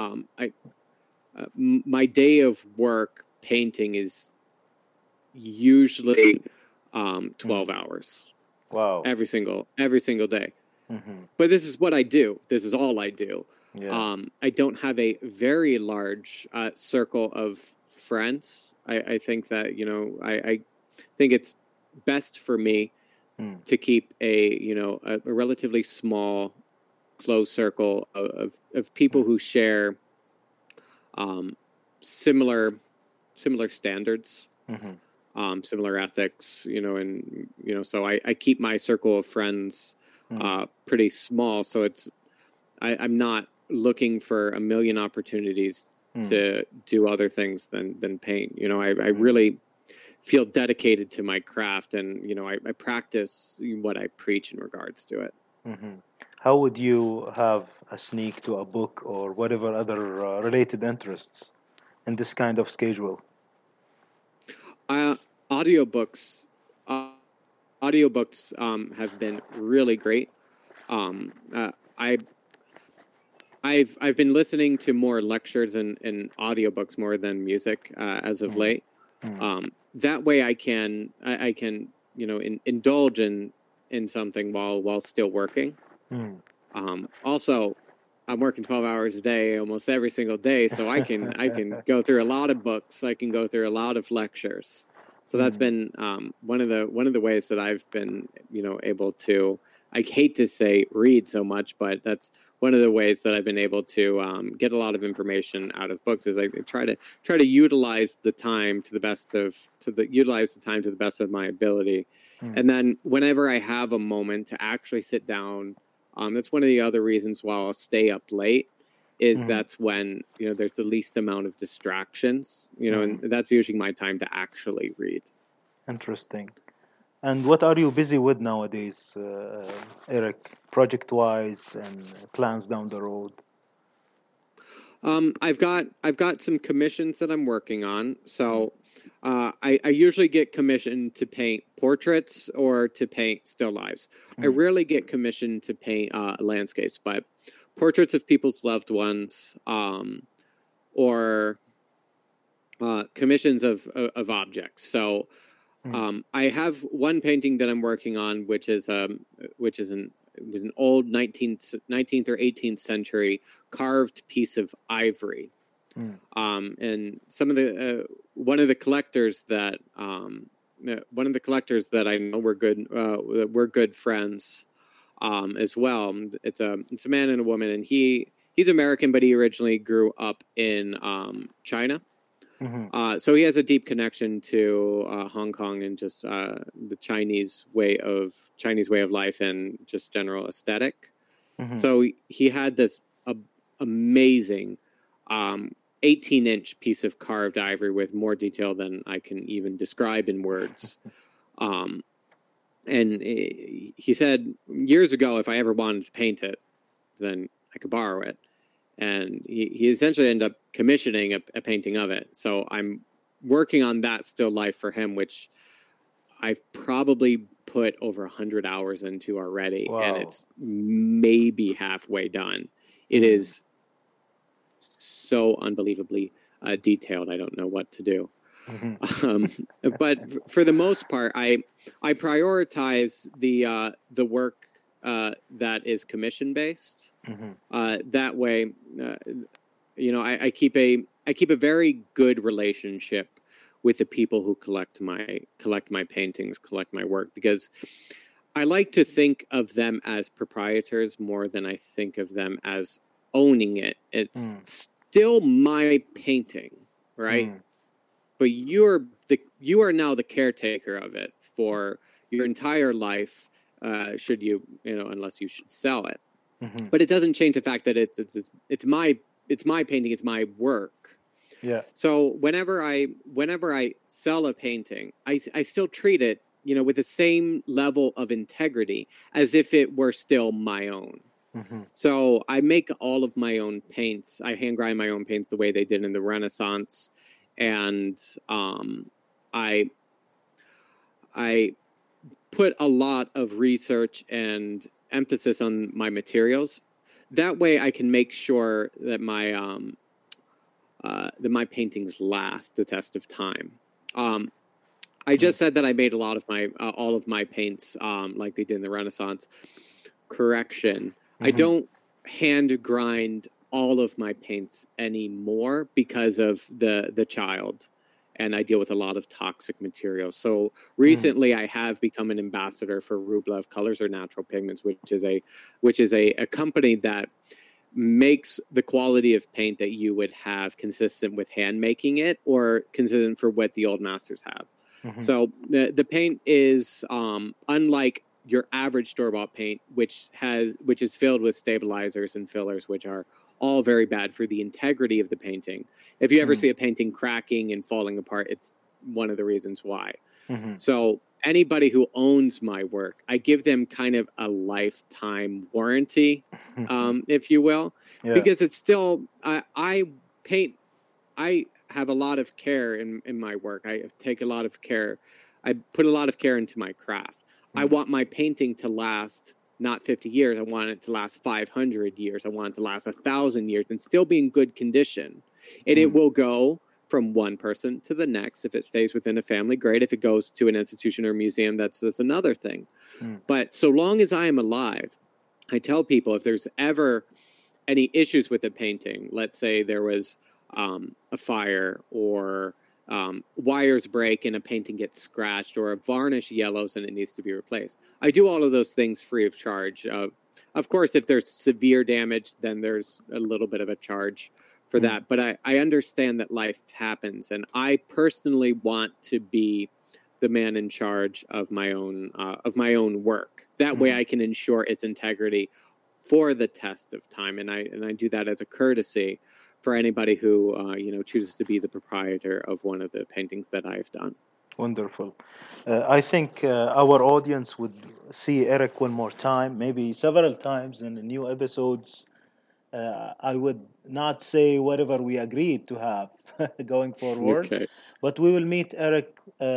My day of work painting is usually 12 hours. Wow. Every single day. But this is what I do. This is all I do. Yeah. I don't have a very large circle of friends. I think that I think it's best for me to keep a relatively small, close circle of people who share similar standards, similar ethics, and so I keep my circle of friends pretty small. So I'm not looking for a million opportunities to do other things than paint. I really feel dedicated to my craft, and I practice what I preach in regards to it. how would you have a sneak to a book or whatever other related interests in this kind of schedule? Uh, audiobooks, uh, audiobooks have been really great. I I've been listening to more lectures and audiobooks more than music as of late. That way I can indulge in something while still working. Also, I'm working 12 hours a day almost every single day, so I can go through a lot of books. I can go through a lot of lectures. So that's been one of the ways that I've been able to. I hate to say read so much, but that's one of the ways that I've been able to get a lot of information out of books. Is I try to utilize the time to the best of my ability, and then whenever I have a moment to actually sit down. That's one of the other reasons why I'll stay up late is that's when, there's the least amount of distractions, and that's usually my time to actually read. Interesting. And what are you busy with nowadays, Eric, project-wise and plans down the road? I've got some commissions that I'm working on. So I usually get commissioned to paint portraits or to paint still lives. I rarely get commissioned to paint landscapes, but portraits of people's loved ones, or commissions of objects. So I have one painting that I'm working on, which is an old 19th or 18th century carved piece of ivory. And some of the one of the collectors that I know we're good friends as well. It's a man and a woman, and he's American, but he originally grew up in China. So he has a deep connection to Hong Kong and just the Chinese way of life and just general aesthetic. So he had this amazing 18-inch piece of carved ivory with more detail than I can even describe in words. And he said years ago, if I ever wanted to paint it, then I could borrow it. And he essentially ended up commissioning a painting of it. So I'm working on that still life for him, which I've probably put over 100 hours into already. Wow. And it's maybe halfway done. It is so unbelievably detailed. I don't know what to do. But for the most part, I prioritize the work that is commission based. That way, I keep a very good relationship with the people who collect my paintings, collect my work, because I like to think of them as proprietors more than I think of them as owning it. It's still my painting, right? But you are now the caretaker of it for your entire life. Should you unless you should sell it. But it doesn't change the fact that it's my painting, it's my work. Yeah. So whenever I sell a painting, I still treat it, with the same level of integrity as if it were still my own. So I make all of my own paints. I hand grind my own paints the way they did in the Renaissance, and I put a lot of research and emphasis on my materials. That way I can make sure that my paintings last the test of time. I just said that I made a lot of all of my paints like they did in the Renaissance. Correction. I don't hand grind all of my paints anymore because of the child. And I deal with a lot of toxic materials. So recently, I have become an ambassador for Rublev Colors or Natural Pigments, which is a company that makes the quality of paint that you would have consistent with hand making it, or consistent for what the old masters have. So the paint is unlike your average store-bought paint, which is filled with stabilizers and fillers, which are all very bad for the integrity of the painting. If you ever see a painting cracking and falling apart, it's one of the reasons why. So anybody who owns my work, I give them kind of a lifetime warranty, if you will, because it's still, I paint, I have a lot of care in my work. I take a lot of care. I put a lot of care into my craft. I want my painting to last not 50 years. I want it to last 500 years. I want it to last 1,000 years and still be in good condition. And it will go from one person to the next. If it stays within a family, great. If it goes to an institution or museum, that's another thing. But so long as I am alive, I tell people if there's ever any issues with a painting, let's say there was a fire or wires break and a painting gets scratched or a varnish yellows and it needs to be replaced. I do all of those things free of charge. Of course, if there's severe damage, then there's a little bit of a charge for that. But I understand that life happens, and I personally want to be the man in charge of my own work. That way I can ensure its integrity for the test of time. And I do that as a courtesy for anybody who chooses to be the proprietor of one of the paintings that I've done. Wonderful. I think our audience would see Eric one more time, maybe several times in the new episodes. I would not say whatever we agreed to have going forward, Okay. but we will meet Eric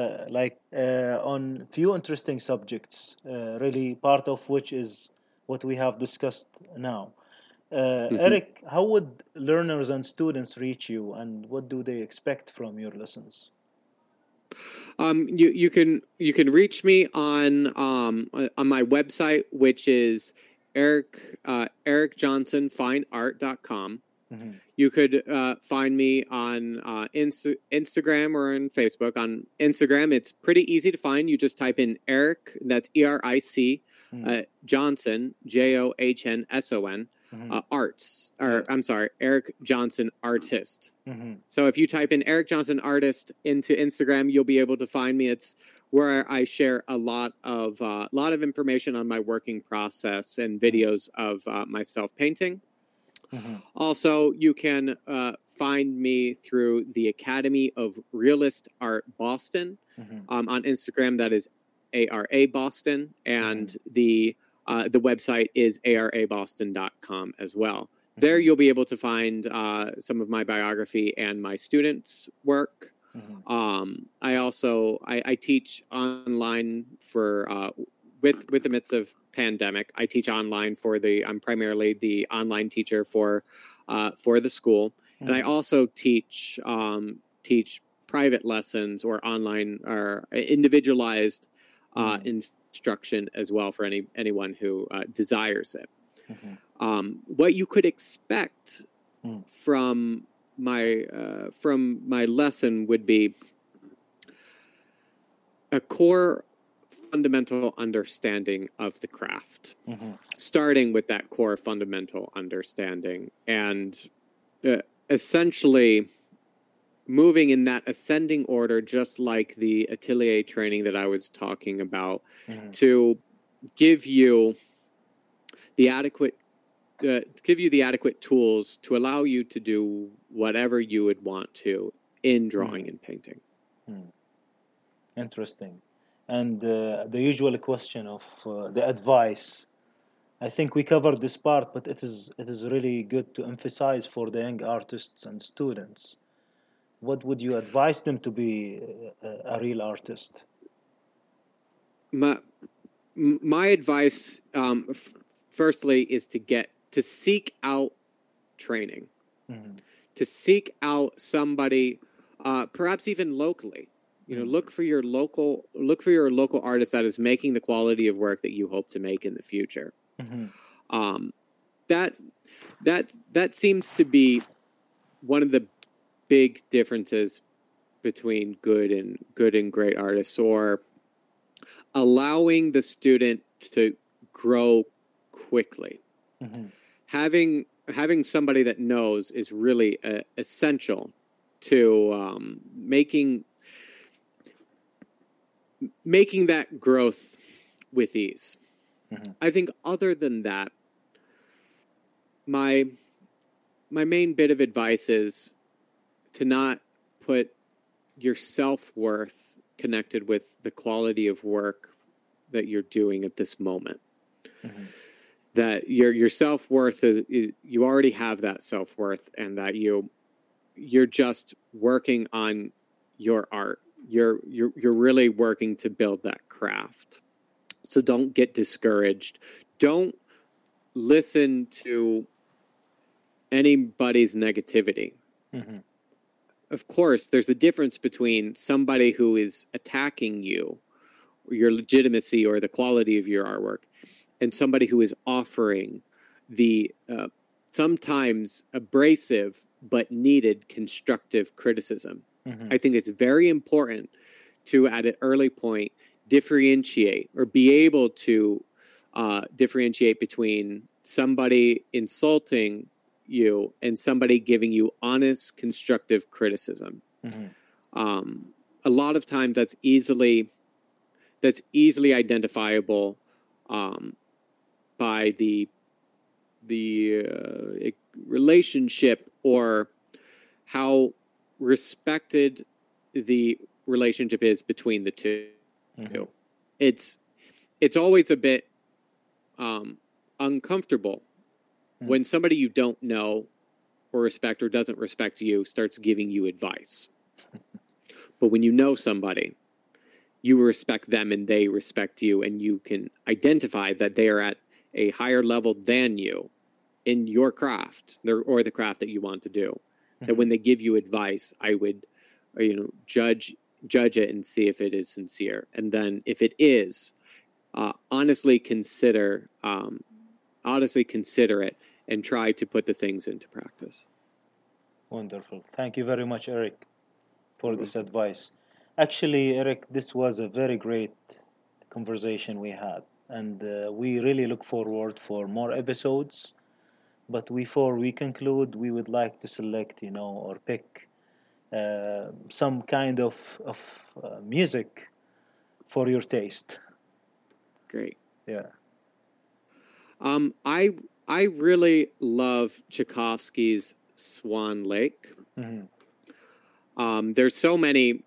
on few interesting subjects, really part of which is what we have discussed now. Eric, how would learners and students reach you, and what do they expect from your lessons? You can reach me on my website, which is ericjohnsonfineart.com. You could find me on Instagram or on Facebook. On Instagram, it's pretty easy to find. You just type in Eric, that's ERIC, Johnson, JOHNSON, arts, or I'm sorry, Eric Johnson Artist. So if you type in Eric Johnson Artist into Instagram, you'll be able to find me. It's where I share a lot of information on my working process and videos of myself painting. Also, you can find me through the Academy of Realist Art Boston on Instagram. That is ARA Boston, and the website is araboston.com as well. There you'll be able to find some of my biography and my students' work. I also I teach online for with the midst of pandemic. I teach online I'm primarily the online teacher for the school, and I also teach private lessons or online or individualized instruction as well for anyone who desires it. What you could expect from my lesson would be a core fundamental understanding of the craft, starting with that core fundamental understanding and essentially moving in that ascending order, just like the atelier training that I was talking about, to give you the adequate tools to allow you to do whatever you would want to in drawing and painting. Interesting. And the usual question of the advice. I think we covered this part, but it is really good to emphasize for the young artists and students. What would you advise them to be a real artist? My advice, firstly, is to seek out training, to seek out somebody, perhaps even locally. Look for your local artist that is making the quality of work that you hope to make in the future. That seems to be one of the big differences between good and great artists, or allowing the student to grow quickly. Having somebody that knows is really essential to making that growth with ease. I think other than that, my main bit of advice is to not put your self-worth connected with the quality of work that you're doing at this moment. Mm-hmm. That your self-worth is you already have that self-worth, and that you're just working on your art. You're really working to build that craft. So don't get discouraged. Don't listen to anybody's negativity. Mm-hmm. Of course, there's a difference between somebody who is attacking you, or your legitimacy or the quality of your artwork, and somebody who is offering the sometimes abrasive but needed constructive criticism. Mm-hmm. I think it's very important to, at an early point, differentiate or be able to differentiate between somebody insulting you and somebody giving you honest, constructive criticism. Mm-hmm. A lot of times that's easily identifiable by the relationship or how respected the relationship is between the two. Mm-hmm. It's always a bit uncomfortable mm-hmm. when somebody you don't know or respect or doesn't respect you starts giving you advice. But when you know somebody, you respect them and they respect you, and you can identify that they are at a higher level than you in your craft or the craft that you want to do. Mm-hmm. That when they give you advice, I would, judge it and see if it is sincere. And then if it is, honestly consider it and try to put the things into practice. Wonderful. Thank you very much, Eric, for this advice. Actually, Eric, this was a very great conversation we had, and we really look forward for more episodes. But before we conclude, we would like to select, or pick some kind of music for your taste. Great. Yeah. I really love Tchaikovsky's Swan Lake. Mm-hmm. There's so many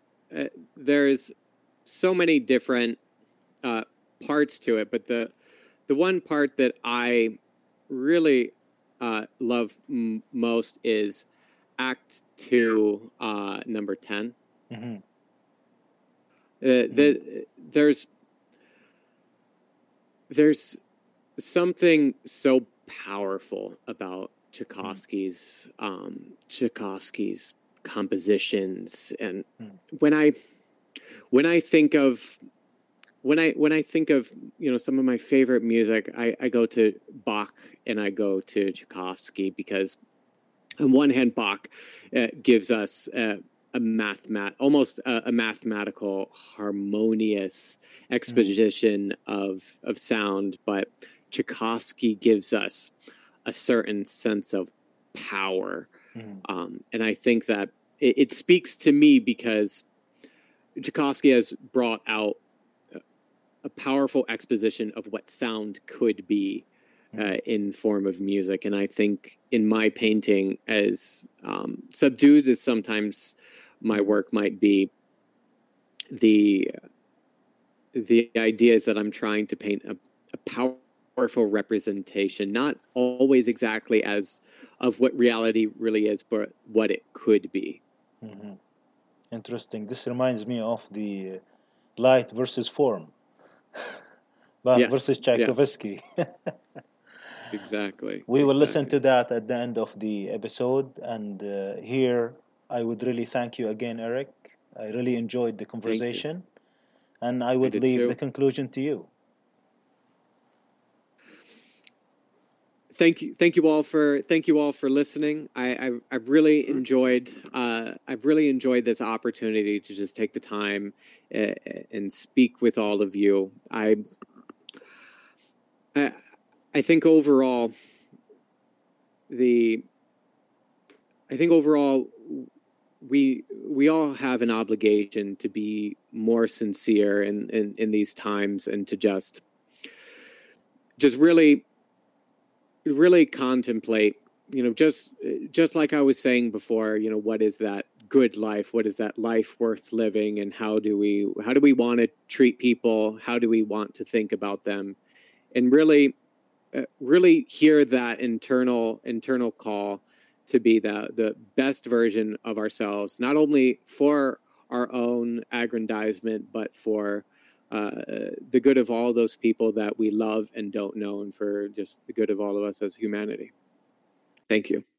different parts to it, but the one part that I really love most is Act 2, number 10. Mm-hmm. There's something so powerful about Tchaikovsky's compositions, and when I think of some of my favorite music, I go to Bach and I go to Tchaikovsky, because on one hand, Bach gives us almost a mathematical, harmonious exposition of sound, but Tchaikovsky gives us a certain sense of power. And I think that it speaks to me because Tchaikovsky has brought out a powerful exposition of what sound could be in form of music. And I think in my painting, as subdued as sometimes my work might be, the idea is that I'm trying to paint a powerful representation, not always exactly as of what reality really is, but what it could be. Mm-hmm. Interesting. This reminds me of the light versus form. Bach versus Tchaikovsky. Yes. Exactly. We will listen to that at the end of the episode. And here, I would really thank you again, Eric. I really enjoyed the conversation. And I would leave the conclusion to you. Thank you all for listening. I've really enjoyed this opportunity to just take the time and speak with all of you. I think overall we all have an obligation to be more sincere in these times, and to just really contemplate, just like I was saying before, what is that good life? What is that life worth living? And how do we want to treat people? How do we want to think about them? And really hear that internal call to be the best version of ourselves, not only for our own aggrandizement, but for the good of all those people that we love and don't know, and for just the good of all of us as humanity. Thank you.